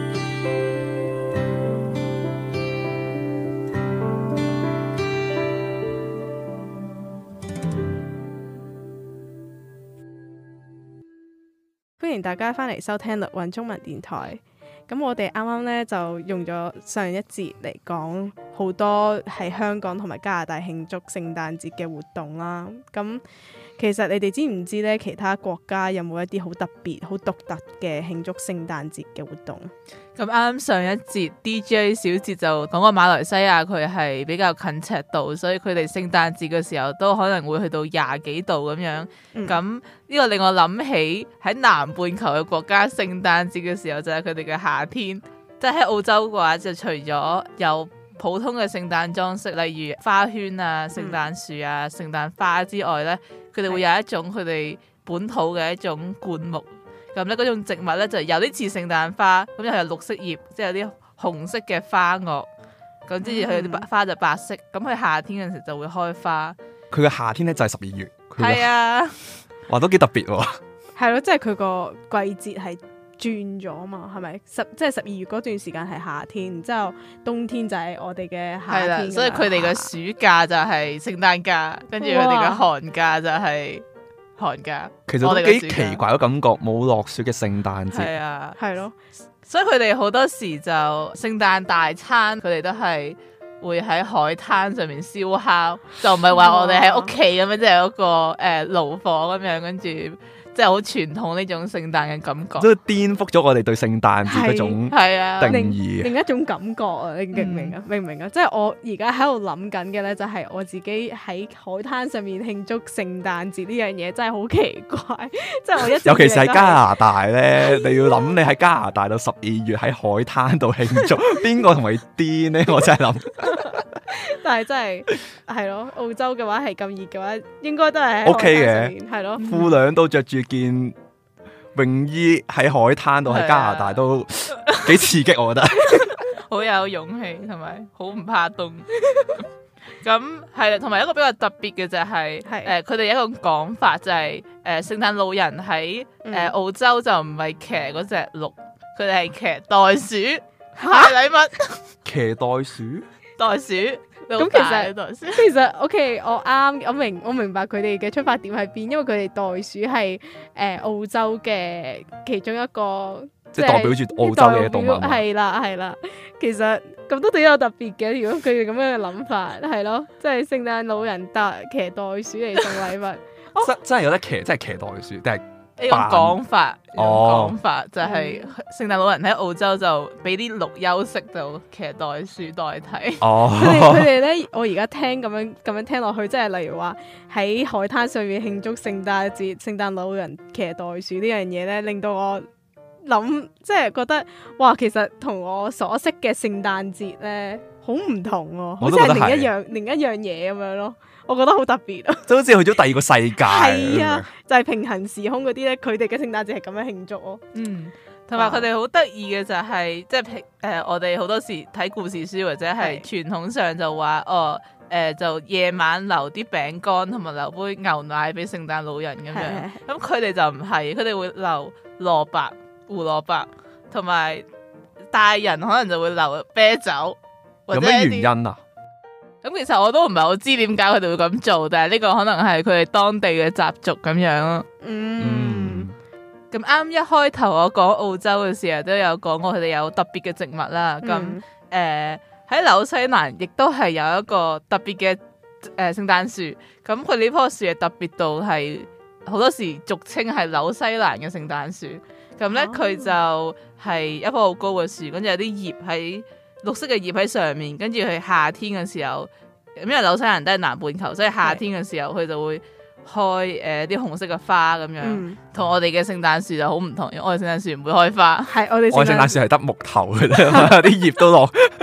歡迎大家翻嚟收聽律韻中文電台。咁我哋啱啱咧就用咗上一節嚟講好多喺香港同埋加拿大慶祝聖誕節嘅活動啦。咁其實你哋知唔知咧，其他國家有冇一啲好特別、好獨特嘅慶祝聖誕節嘅活動？ 咁啱啱上一節 D J 小節就講過馬來西亞佢係比較近赤道，所以佢哋聖誕節嘅時候都可能會去到廿幾度咁樣。咁呢、嗯、個令我諗起喺南半球嘅國家聖誕節嘅時候就係佢哋嘅夏天。即係喺澳洲嘅話，就除咗有普通嘅聖誕裝飾，例如花圈啊、聖誕樹啊、聖誕花之外呢，佢哋會有一種佢哋本土嘅一種灌木。咁咧嗰種植物咧就有啲似聖誕花，咁又有綠色葉，即係有啲紅色嘅花萼。咁之後佢啲花就白色。咁佢夏天嗰陣時就會開花。佢嘅夏天咧就係十二月。係啊，哇都幾特別喎。係咯，即係佢個季節係轉咗嘛，係咪？十即係十二月嗰段時間係夏天，然之後冬天就係我哋嘅夏天。係啦，所以佢哋嘅暑假就係聖誕假，跟住佢哋嘅寒假就係寒假。其實都幾奇怪嘅感覺，冇落雪嘅聖誕節。係啊，係咯，所以佢哋好多時就聖誕大餐，佢哋都係會喺海灘上面燒烤，就唔係話我哋喺屋企咁樣，即係嗰個誒爐火咁樣，跟住。即係好傳統呢種聖誕嘅感覺，即係顛覆咗我哋對聖誕節嗰種定義，另一種感覺啊！你明唔明啊？明唔明啊？即係我而家喺度諗緊嘅咧，就係我自己喺海灘上面慶祝聖誕節呢樣嘢，真係好奇怪！即係我一尤其是喺加拿大咧，你要諗你喺加拿大到十二月喺海灘度慶祝，邊個同你癲咧？我真係諗。但係真係係咯，澳洲嘅話係咁熱嘅話，應該都係 OK 嘅，係咯。褲兩都着住件泳衣喺海灘度，喺加拿大都幾刺激，我覺得。好有勇氣同埋好唔怕凍。咁係啦，同埋一個比較特別嘅就係、是，誒佢哋有一個講法就係、是，誒聖誕老人喺誒、呃、澳洲就唔係騎嗰隻鹿，佢哋係騎袋鼠派禮物。騎袋鼠？袋鼠。咁其實其實 OK， 我啱我明我明白佢哋嘅出發點喺邊，因為佢哋袋鼠係誒、呃、澳洲嘅其中一個，即係代表住澳洲嘅動物。係啦係啦，其實咁都幾有特別嘅。如果佢哋咁樣嘅諗法，係咯，即係聖誕老人搭騎袋鼠嚟送禮物，哦、真真係有得騎，真係騎袋鼠，定係？呢種講法，呢種講法就係聖誕老人喺澳洲就俾啲鹿休息，就騎袋鼠代替。哦，佢哋佢哋咧，我而家聽咁樣咁樣聽落去，即係例如話喺海灘上面慶祝聖誕節，聖誕老人騎袋鼠呢樣嘢咧，令到我諗，即係覺得哇，其實同我所識嘅聖誕節咧好唔同喎，好似係另一樣另一樣嘢咁樣咯。我覺得好特別啊！就好似去咗第二個世界。係啊，就係、是、平行時空嗰啲咧，佢哋嘅聖誕節係咁樣慶祝咯。嗯，同埋佢哋好得意嘅就係、是，即係平誒，我哋好多時睇故事書或者係傳統上就話，哦誒、呃，就夜晚留啲餅乾同埋留杯牛奶俾聖誕老人咁樣。咁佢哋就唔係，佢哋會留蘿蔔、胡蘿蔔，同埋大人可能就會留啤酒。有咩原因啊？咁其實我都唔係好知點解佢哋會咁做，但係呢個可能係佢哋當地嘅習俗咁樣咯。嗯，咁啱一開頭我講澳洲嘅時候都有講過佢哋有特別嘅植物啦。咁誒喺紐西蘭亦都係有一個特別嘅誒聖誕樹。咁佢呢棵樹係特別到係好多時俗稱係紐西蘭嘅聖誕樹。咁咧佢就係一棵好高嘅樹，跟住有啲葉喺。綠色嘅葉喺上面，跟住佢夏天嘅時候，因為紐西蘭都係南半球，所以夏天嘅時候佢就會開誒啲、呃、紅色嘅花咁樣，同、嗯、我哋嘅聖誕樹就好唔同。因為我哋聖誕樹唔會開花，係我哋聖誕樹係得木頭嘅啫，啲葉都落。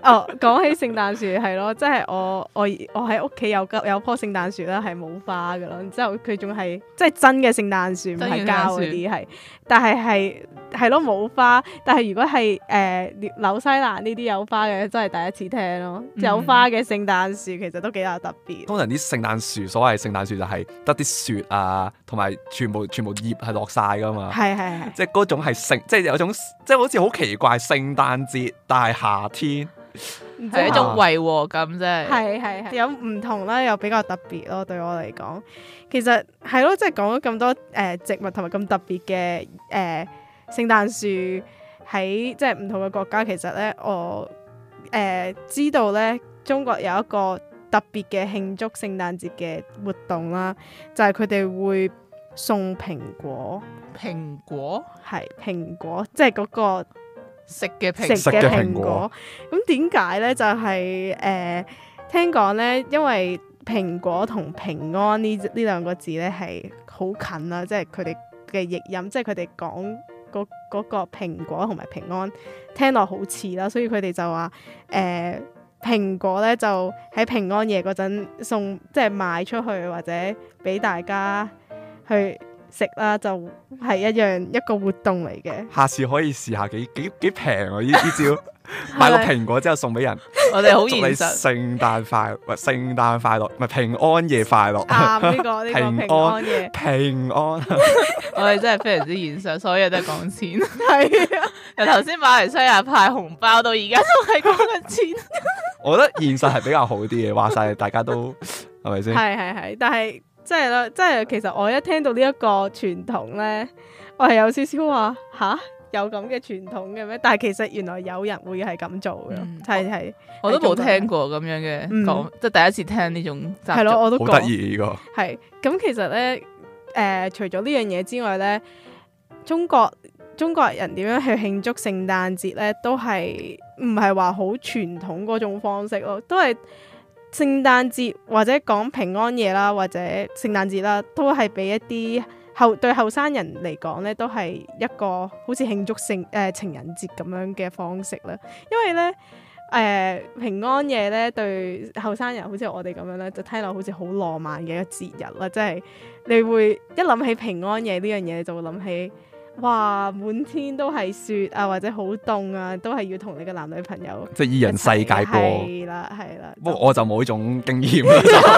哦，講起聖誕樹係咯，即係我我我喺屋企有有棵聖誕樹啦，係冇花噶咯，之後佢仲係即係真嘅聖誕樹，唔係膠嗰啲係，但係係係咯冇花，但係如果係誒、呃、紐西蘭呢啲有花嘅，真係第一次聽咯，嗯、有花嘅聖誕樹其實都幾有特別。 通常啲聖誕樹，所謂聖誕樹就係得啲雪啊，同埋全部全部葉係落晒噶嘛，係係係，即係嗰種係聖，即係有種即係好似好奇怪聖誕節，但係夏天。 係一種違和感啫， 係係係有唔同啦，又比較特別咯。對我嚟講，其實係咯，即係講咗咁多誒、呃、植物同埋咁特別嘅誒聖誕樹喺即係唔同嘅國家。其實咧，我誒、呃、知道咧，中國有一個特別嘅慶祝聖誕節嘅活動啦，就係佢哋會送蘋果， 蘋果係蘋果，即係嗰個。 食嘅蘋食嘅蘋果，咁點解咧？就係、是、誒、呃，聽講咧，因為蘋果同平安呢呢兩個字咧係好近啦，即係佢哋嘅譯音，即係佢哋講嗰嗰個蘋果同埋平安聽落好似啦，所以佢哋就話誒蘋果咧就喺平安夜嗰陣送，即係賣出去或者俾大家去食啦，就係一樣一個活動嚟嘅。下次可以試下幾幾幾平啊！呢啲招買個蘋果之後送俾人， 我哋好現實。 祝你聖誕快樂，唔係聖誕快樂，唔係平安夜快樂。 啱呢個呢個平安夜平安。 我哋真係非常之現實，所有嘢都係講錢。係啊，由頭先馬來西亞派紅包到而家都係講緊錢。我覺得現實係比較好啲嘅，話晒大家都係咪先？係係係，但係。即係啦，即係其實我一聽到呢一個傳統咧，我係有少少話吓，有咁嘅傳統嘅咩？但係其實原來有人會係咁做嘅，係係、嗯、我都冇聽過咁樣嘅講，即係、嗯、第一次聽呢種習俗。係咯，我都好得意呢個。係咁，其實咧，誒、呃，除咗呢樣嘢之外咧，中國中國人點樣去慶祝聖誕節咧，都係唔係話好傳統嗰種方式咯，都係。聖誕節或者講平安夜啦，或者聖誕節啦，都係俾一啲後對後生人嚟講咧，都係一個好似慶祝聖誒、呃、情人節咁樣嘅方式啦。因為咧誒、呃、平安夜咧對後生人好似我哋咁樣咧，就聽落好似好浪漫嘅一個節日啦。即係你會一諗起平安夜呢樣嘢，你就會諗起。哇！滿天都係雪啊，或者好凍啊，都係要同你嘅男女朋友即係二人世界過。係啦，係啦。不過我就冇呢種經驗啦。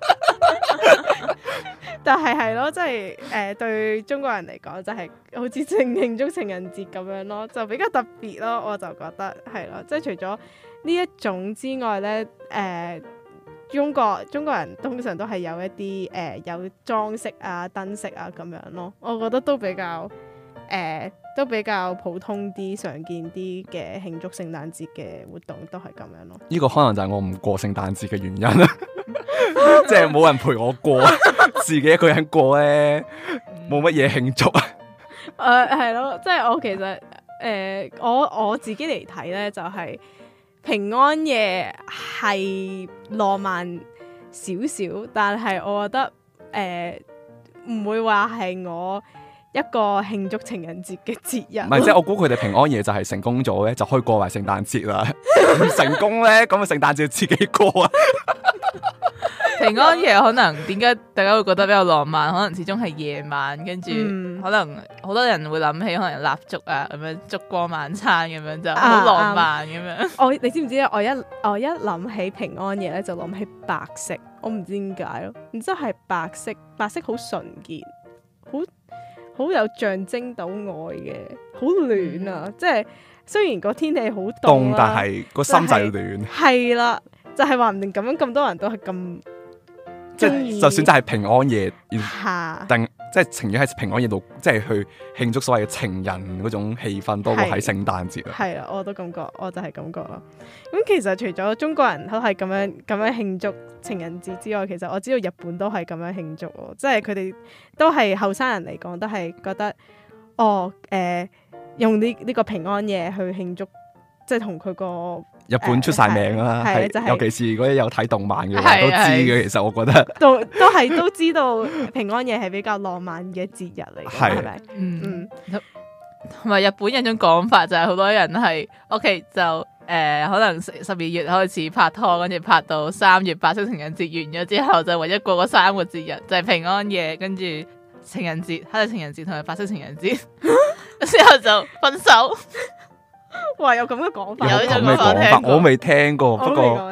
但係係咯，即係誒對中國人嚟講，就係好似正慶祝情人節咁樣咯，就比較特別咯。我就覺得係咯，即係除咗呢一種之外咧，誒、呃、中國中國人通常都係有一啲誒、呃、有裝飾啊、燈飾啊咁樣咯。我覺得都比較。誒、呃、都比較普通啲、常見啲嘅慶祝聖誕節嘅活動都係咁樣咯。呢個可能就係我唔過聖誕節嘅原因啦，即係冇人陪我過，自己一個人過咧，冇乜嘢慶祝。誒係咯，即係我其實誒、呃、我我自己嚟睇咧，就係、是、平安夜係浪漫少少，但係我覺得誒唔、呃、會話係我。一個慶祝情人節嘅節日，唔係即係我估佢哋平安夜就係成功咗咧，就可以過埋聖誕節啦。唔成功咧，咁啊聖誕節自己過啊。平安夜可能點解大家會覺得比較浪漫？可能始終係夜晚，跟住、嗯、可能好多人會諗起可能蠟燭啊，咁樣燭光晚餐咁樣就好浪漫咁樣。啊啊、我你知唔知咧？我一我一諗起平安夜咧，就諗起白色，我唔知點解咯。然之後係白色，白色好純潔，好。好有象徵到愛嘅，好暖啊！嗯、即係雖然個天氣好凍，但係個心就係暖。係啦，就係話唔定咁樣咁多人都係咁，即係就算真係平安夜，定即係情願喺平安夜度，即係去慶祝所謂嘅情人嗰種氣氛，多過喺聖誕節啊。係啊，我都感覺，我就係感覺咯。咁其實除咗中國人都係咁樣咁樣慶祝情人節之外，其實我知道日本都係咁樣慶祝喎，即係佢哋都係後生人嚟講，都係覺得哦誒、呃，用呢呢個平安夜去慶祝，即係同佢個日本出晒名啦，係、呃就係、尤其是如果有睇動漫嘅話都知嘅。其實我覺得都都係都知道平安夜係比較浪漫嘅節日嚟，係咪？嗯嗯，同埋日本有種講法就係好多人係 OK 就。 呃、可能十二月開始拍拖，跟住拍到三月白色情人節完咗之後，就唯一過嗰三個節日就係、是、平安夜，跟住情人節、黑色情人節同埋白色情人節，之後就分手。 哇！有咁嘅講法， 有呢種講法，我未聽過。不過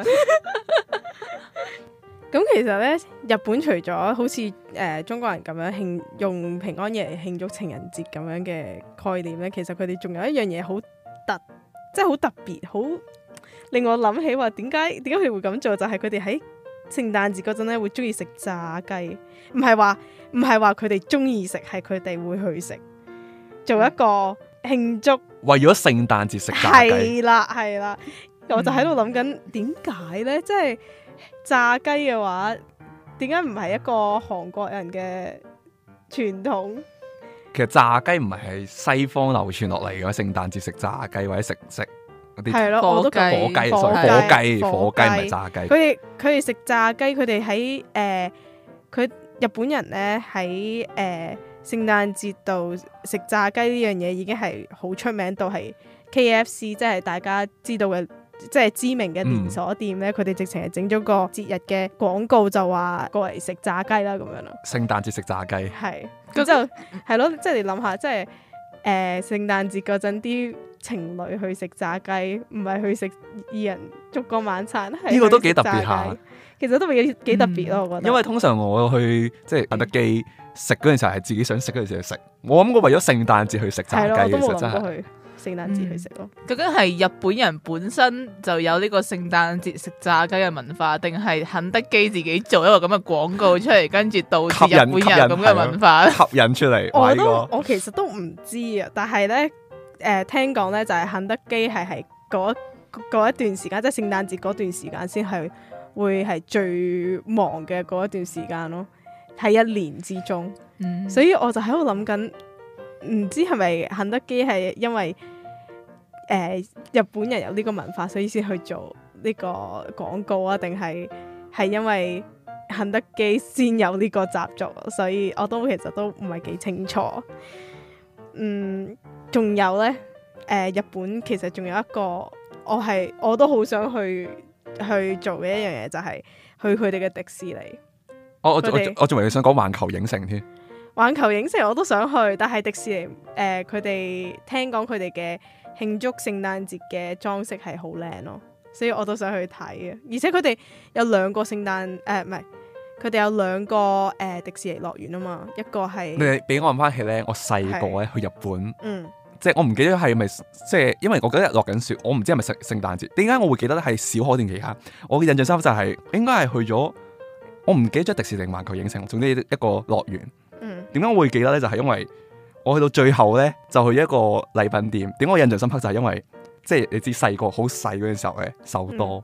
咁其實咧，日本除咗好似誒、呃、中國人咁樣慶用平安夜嚟慶祝情人節咁樣嘅概念咧，其實佢哋仲有一樣嘢好特，即係好特別，好令我諗起話點解點解佢哋會咁做，就係佢哋喺聖誕節嗰陣咧會中意食炸雞，唔係話唔係話佢哋中意食，係佢哋會去食，做一個慶祝。 為咗聖誕節食炸雞， 係啦係啦，我就喺度諗緊點解咧，即係。炸雞嘅話，點解唔係一個韓國人嘅傳統？ 其實炸雞唔係喺西方流傳落嚟嘅，聖誕節食炸雞或者食食嗰啲係咯，我都火雞，火雞，火雞唔係炸雞。佢哋佢哋食炸雞，佢哋喺誒，佢日本人咧喺誒聖誕節度食炸雞呢樣嘢已經係好出名到係 K F C， 即係大家知道嘅。即係知名嘅連鎖店咧，佢哋、嗯、直情係整咗個節日嘅廣告，就話過嚟食炸雞啦咁樣咯。聖誕節食炸雞， 係咁就係咯，即係你諗下，即係誒聖誕節嗰陣啲情侶去食炸雞，唔係去食二人燭光晚餐，呢個都幾特別下。 其實都幾幾特別咯，我覺得。 因為通常我去即係肯德基食嗰陣時候係自己想食嗰陣時去食，我諗過為咗聖誕節去食炸雞，其實真係。聖誕節去食咯， 究竟係日本人本身就有呢個聖誕節食炸雞嘅文化，定係肯德基自己做一個咁嘅廣告出嚟，跟住導致日本人咁嘅文化吸引出嚟？ 我都我其實都唔知啊，但係咧誒聽講咧就係肯德基係係嗰嗰一段時間，即係聖誕節嗰段時間先係會係最忙嘅嗰一段時間咯，喺一年之中，嗯、所以我就喺度諗緊，唔知係咪肯德基係因為誒、呃、日本人有呢個文化，所以先去做呢個廣告啊？定係係因為肯德基先有呢個習俗，所以我都其實都唔係幾清楚。嗯，仲有呢，誒、呃、日本其實仲有一個我係我都好想去去做嘅一樣嘢，就係、是、去佢哋嘅迪士尼。 我我我仲以為你想講環球影城添。 環球影城我都想去，但係迪士尼誒佢哋聽講佢哋嘅慶祝聖誕節嘅裝飾係好靚咯，所以我都想去睇嘅。而且佢哋有兩個聖誕誒唔係，佢哋有兩個誒、呃、迪士尼樂園啊嘛，一個係你俾我諗翻起咧，我細個咧去日本， 嗯， 即係我唔記得係咪即係，因為我嗰日落緊雪，我唔知係咪聖聖誕節。點解我會記得係小可段期間？我嘅印象深刻就係、是、應該係去咗，我唔記得咗迪士尼環球影城，總之一個樂園。點解我會記得咧？就係、是、因為我去到最後咧，就去一個禮品店。點解我印象深刻就係因為，即係你知細個好細嗰陣時候咧，手多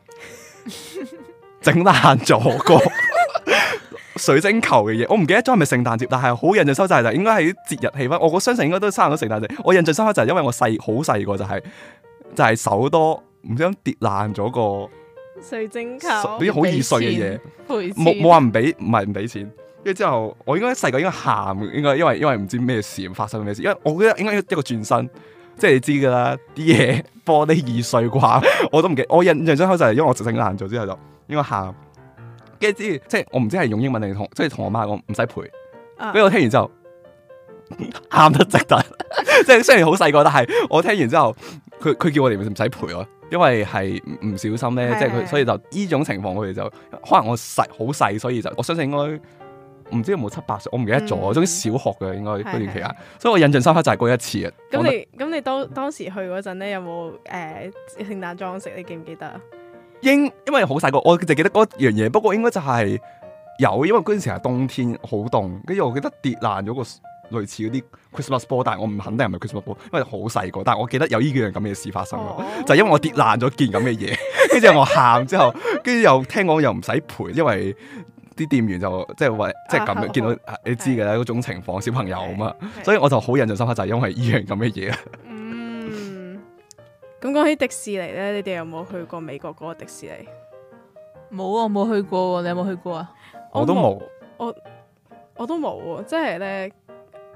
整爛咗個水晶球嘅嘢。我唔記得咗係咪聖誕節，但係好印象深刻就係應該係節日氣氛。我我相信應該都差唔多聖誕節。我印象深刻就係因為我細好細個就係、是、就係、是、手多唔知點跌爛咗個水晶球， 啲好易碎嘅嘢，冇冇話唔俾，唔係唔俾錢。跟住之後，我應該細個應該喊，應該因為因為唔知咩事發生咩事，因為我覺得應該一個轉身，即係你知噶啦，啲嘢玻璃易碎啩，我都唔記得。我印象深刻就係因為我直整爛咗之後就應該喊，跟住之即係我唔知係用英文定同即係同我媽講唔使賠，跟住、啊、我聽完之後喊得值得，即係雖然好細個，但係我聽完之後，佢佢叫我哋唔使賠咯，因為係唔小心咧，即係佢所以就呢種情況，我哋就可能我細好細，所以就我相信應該。唔知有冇七八歲，我唔記得咗。總之、嗯、小學嘅應該嗰段期間，所以我印象深刻就係嗰一次啊。 咁你咁你當當時去嗰陣咧，有冇誒、呃、聖誕裝飾？你記唔記得啊？ 應因為好細個，我就記得嗰樣嘢。不過應該就係有，因為嗰陣時係冬天，好凍。跟住我記得跌爛咗個類似嗰啲 Christmas ball， 但係我唔肯定係咪 Christmas ball，因為好細個。但係我記得有呢幾樣咁嘅事發生咯，哦、就係因為我跌爛咗件咁嘅嘢，跟住我喊之後，跟住又聽講又唔使賠，因為。啲店員就即係話，即係咁樣見到你知嘅啦，嗰種情況，小朋友啊嘛，所以我就好印象深刻，就係因為依樣咁嘅嘢啊。 嗯，咁講起迪士尼咧，你哋有冇去過美國嗰個迪士尼？ 冇啊，冇去過。你有冇去過啊？ 我都冇， 我我都冇喎。即係咧，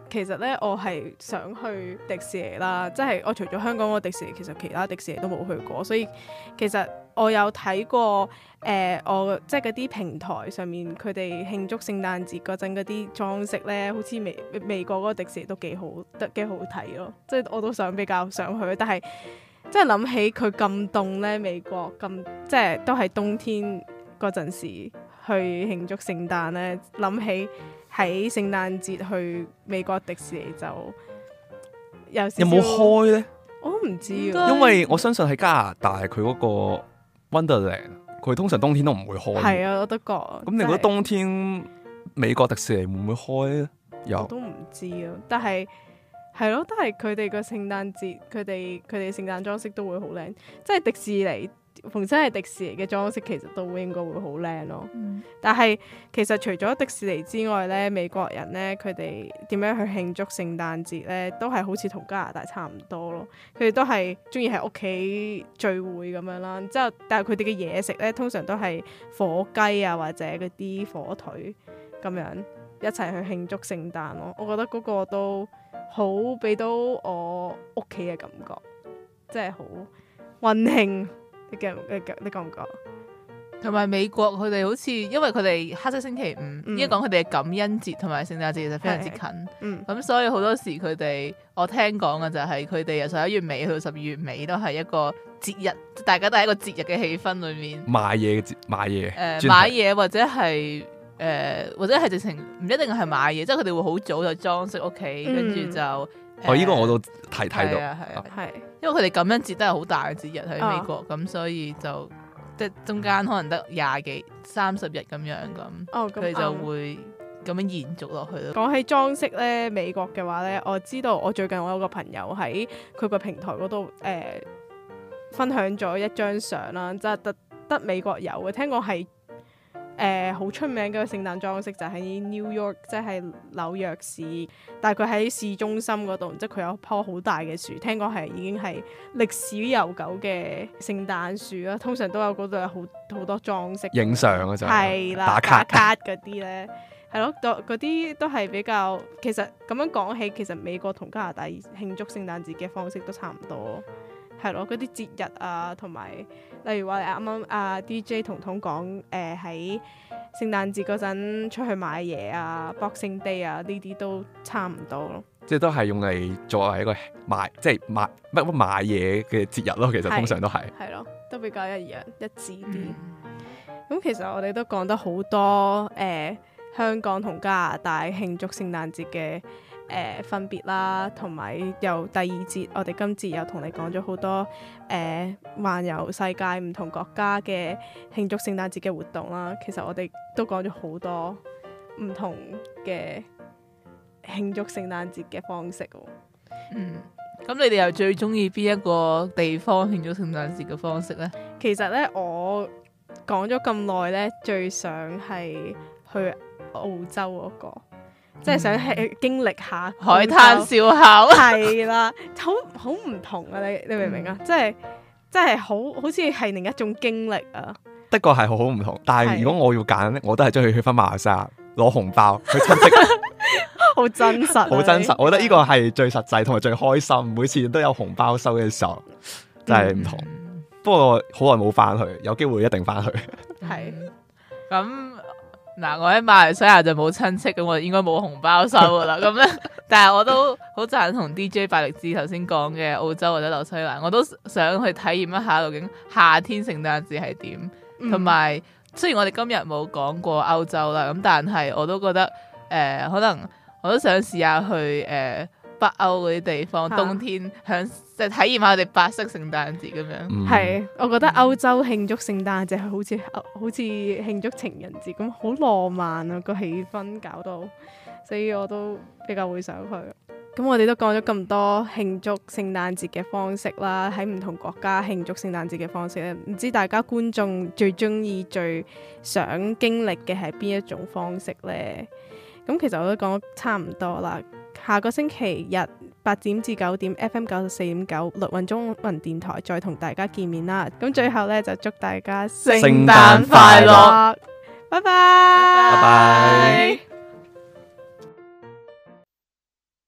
其實咧，我係想去迪士尼啦，即係我除咗香港個迪士尼，其實其他迪士尼都冇去過，所以其實我有睇過誒、呃，我即係嗰啲平台上面佢哋慶祝聖誕節嗰陣嗰啲裝飾咧，好似美美國嗰個迪士尼都幾好，得幾好睇咯，即係我都想比較想去，但係即係諗起佢咁凍咧，美國咁即係都係冬天嗰陣時去慶祝聖誕咧，諗起。喺聖誕節去美國迪士尼就有少少有冇開呢？ 我都唔知啊， 因為我相信喺加拿大佢嗰個 Wonderland，佢通常冬天都唔會開。 係啊，我都覺。咁你覺得冬天美國迪士尼會唔會開呢？有我都唔知啊，但係係咯，都係佢哋個聖誕節，佢哋佢哋聖誕裝飾都會好靚，即係迪士尼。逢親係迪士尼嘅裝飾，其實都應該會好靚咯。嗯、但係其實除咗迪士尼之外咧，美國人咧佢哋點樣去慶祝聖誕節咧，都係好似同加拿大差唔多咯。佢哋都係中意喺屋企聚會咁樣啦。之後，但係佢哋嘅嘢食咧，通常都係火雞啊，或者嗰啲火腿咁樣一齊去慶祝聖誕咯。我覺得嗰個都好俾到我屋企嘅感覺，即係好溫馨。你覺你覺你覺唔覺？ 同埋美國佢哋好似，因為佢哋黑色星期五，應該講佢哋嘅感恩節同埋聖誕節其實非常之近，咁、嗯、所以好多時佢哋我聽講嘅就係佢哋由十一月尾去到十二月尾都係一個節日，大家都喺一個節日嘅氣氛裏面買嘢嘅節買嘢，誒、 呃、買嘢或者係誒、呃、或者係直情唔一定係買嘢，即係佢哋會好早就裝飾屋企，跟住就。嗯哦，呢、這個我都睇睇到，係啊係啊係，因為佢哋感恩節都係好大嘅節日喺美國，咁、哦、所以就即係中間可能得廿幾三十日咁樣咁，佢、哦、就會咁樣延續落去咯。 講起裝飾咧，美國嘅話咧，我知道我最近我有個朋友喺佢個平台嗰度誒分享咗一張相啦，即係得得美國有嘅，聽講係。誒好、呃、出名嘅聖誕裝飾就喺 New York， 即係紐約市，但係佢喺市中心嗰度，即係佢有一棵好大嘅樹，聽講係已經係歷史悠久嘅聖誕樹啦。通常都有嗰度有好好多裝飾， 影相啊就係啦，打卡嗰啲咧，係咯，嗰啲都係比較。其實咁樣講起，其實美國同加拿大慶祝聖誕節嘅方式都差唔多。係咯，嗰啲節日啊，同埋例如話你啱啱阿 D J 彤彤講誒喺聖誕節嗰陣出去買嘢啊 Boxing Day 啊，呢啲都差唔多咯。即係都係用嚟作為一個買即係買乜乜買嘢嘅節日咯。其實通常都係係咯， 都比較一樣一致啲。咁、嗯、其實我哋都講得好多誒、呃、香港同加拿大慶祝聖誕節嘅。誒、呃、分別啦，同埋由第二節，我哋今節又同你講咗好多誒環遊世界唔同國家嘅慶祝聖誕節嘅活動啦。其實我哋都講咗好多唔同嘅慶祝聖誕節嘅方式喎。 嗯，咁你哋又最中意邊一個地方慶祝聖誕節嘅方式呢？ 其實呢，我講咗咁耐呢，最想係去澳洲嗰個。即係想係經歷下海灘燒烤， 係啦，好好唔同啊！你你明唔明啊？即係即係好好似係另一種經歷啊！ 的確係好好唔同，但係如果我要揀咧，我都係中意去翻馬來西亞攞紅包去親戚， 好真實， 好真實。我覺得呢個係最實際同埋最開心，每次都有紅包收嘅時候，真係唔同。嗯、不過好耐冇翻去，有機會一定翻去。 係咁。嗯嗱，我喺馬來西亞就冇親戚，咁我應該冇紅包收噶啦。咁咧，但係我都好贊同 D J 百力滋頭先講嘅澳洲或者紐西蘭，我都想去體驗一下究竟夏天聖誕節係點。同埋、嗯、雖然我哋今日冇講過歐洲啦，咁但係我都覺得誒、呃，可能我都想試下去誒、呃、北歐嗰啲地方，啊、冬天享即係體驗下我哋白色聖誕節咁樣。 係、嗯，我覺得歐洲慶祝聖誕節係好似好似慶祝情人節咁，好浪漫啊個氣氛搞到，所以我都比較會想去。咁我哋都講咗咁多慶祝聖誕節嘅方式啦，喺唔同國家慶祝聖誕節嘅方式咧，唔知大家觀眾最中意、最想經歷嘅係邊一種方式呢？咁其實我都講得差唔多啦。下個星期日八點至九點 F M 九十四點九綠雲中文電台再同大家見面啦。咁最後呢，就祝大家聖誕快樂，拜拜，拜拜。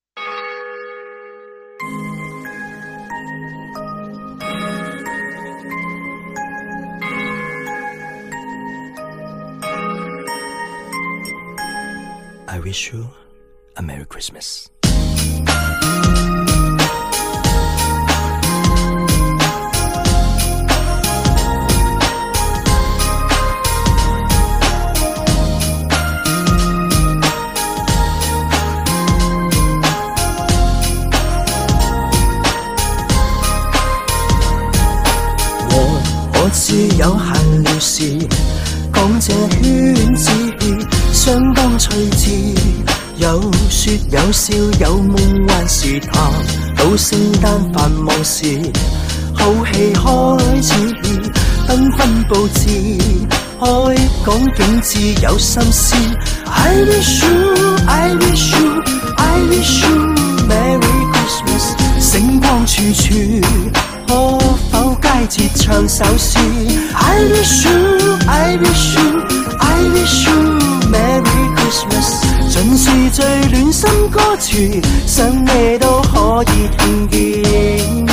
wish you a Merry Christmas。 我知有限了事，講這圈子相當趣致，有說有笑有夢幻時談，到聖誕繁忙時，好戲開始，繽紛佈置，開講景致有心思。I wish you, I wish you, I wish you Merry Christmas， 星光處處。可否佳節唱首詩 ？I wish you, I wish you, I wish you Merry Christmas， 盡是最暖心歌詞，想你都可以聽見。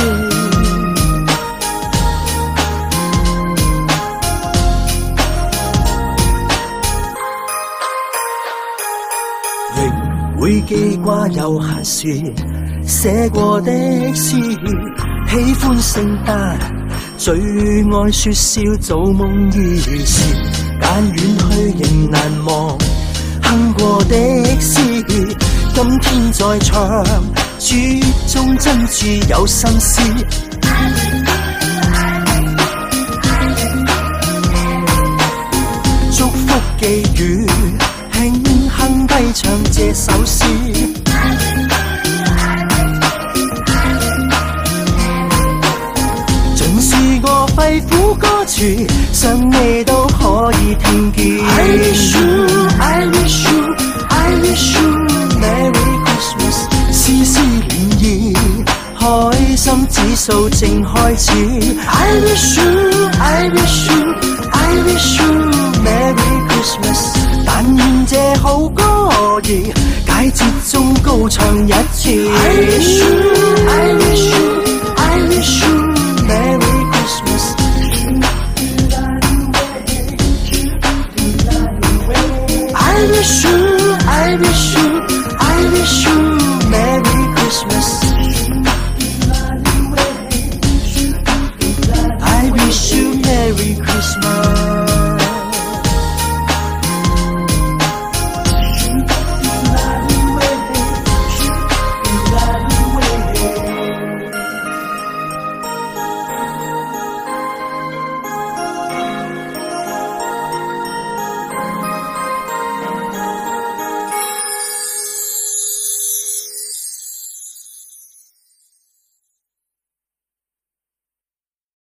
仍會記掛有閒時寫過的詩。喜歡聖誕，最愛說笑做夢兒時，間遠去仍難忘，哼過的詩，今天再唱，書中真摯有心思。祝福寄語，輕輕低唱這首詩。個肺腑歌詞，想你都可以聽見。I wish you, I wish you, I wish you Merry Christmas， 絲絲漣漪，開心指數正開始。I wish you, I wish you, I wish you Merry Christmas， 但願這好歌兒，佳節中高唱一次。I wish you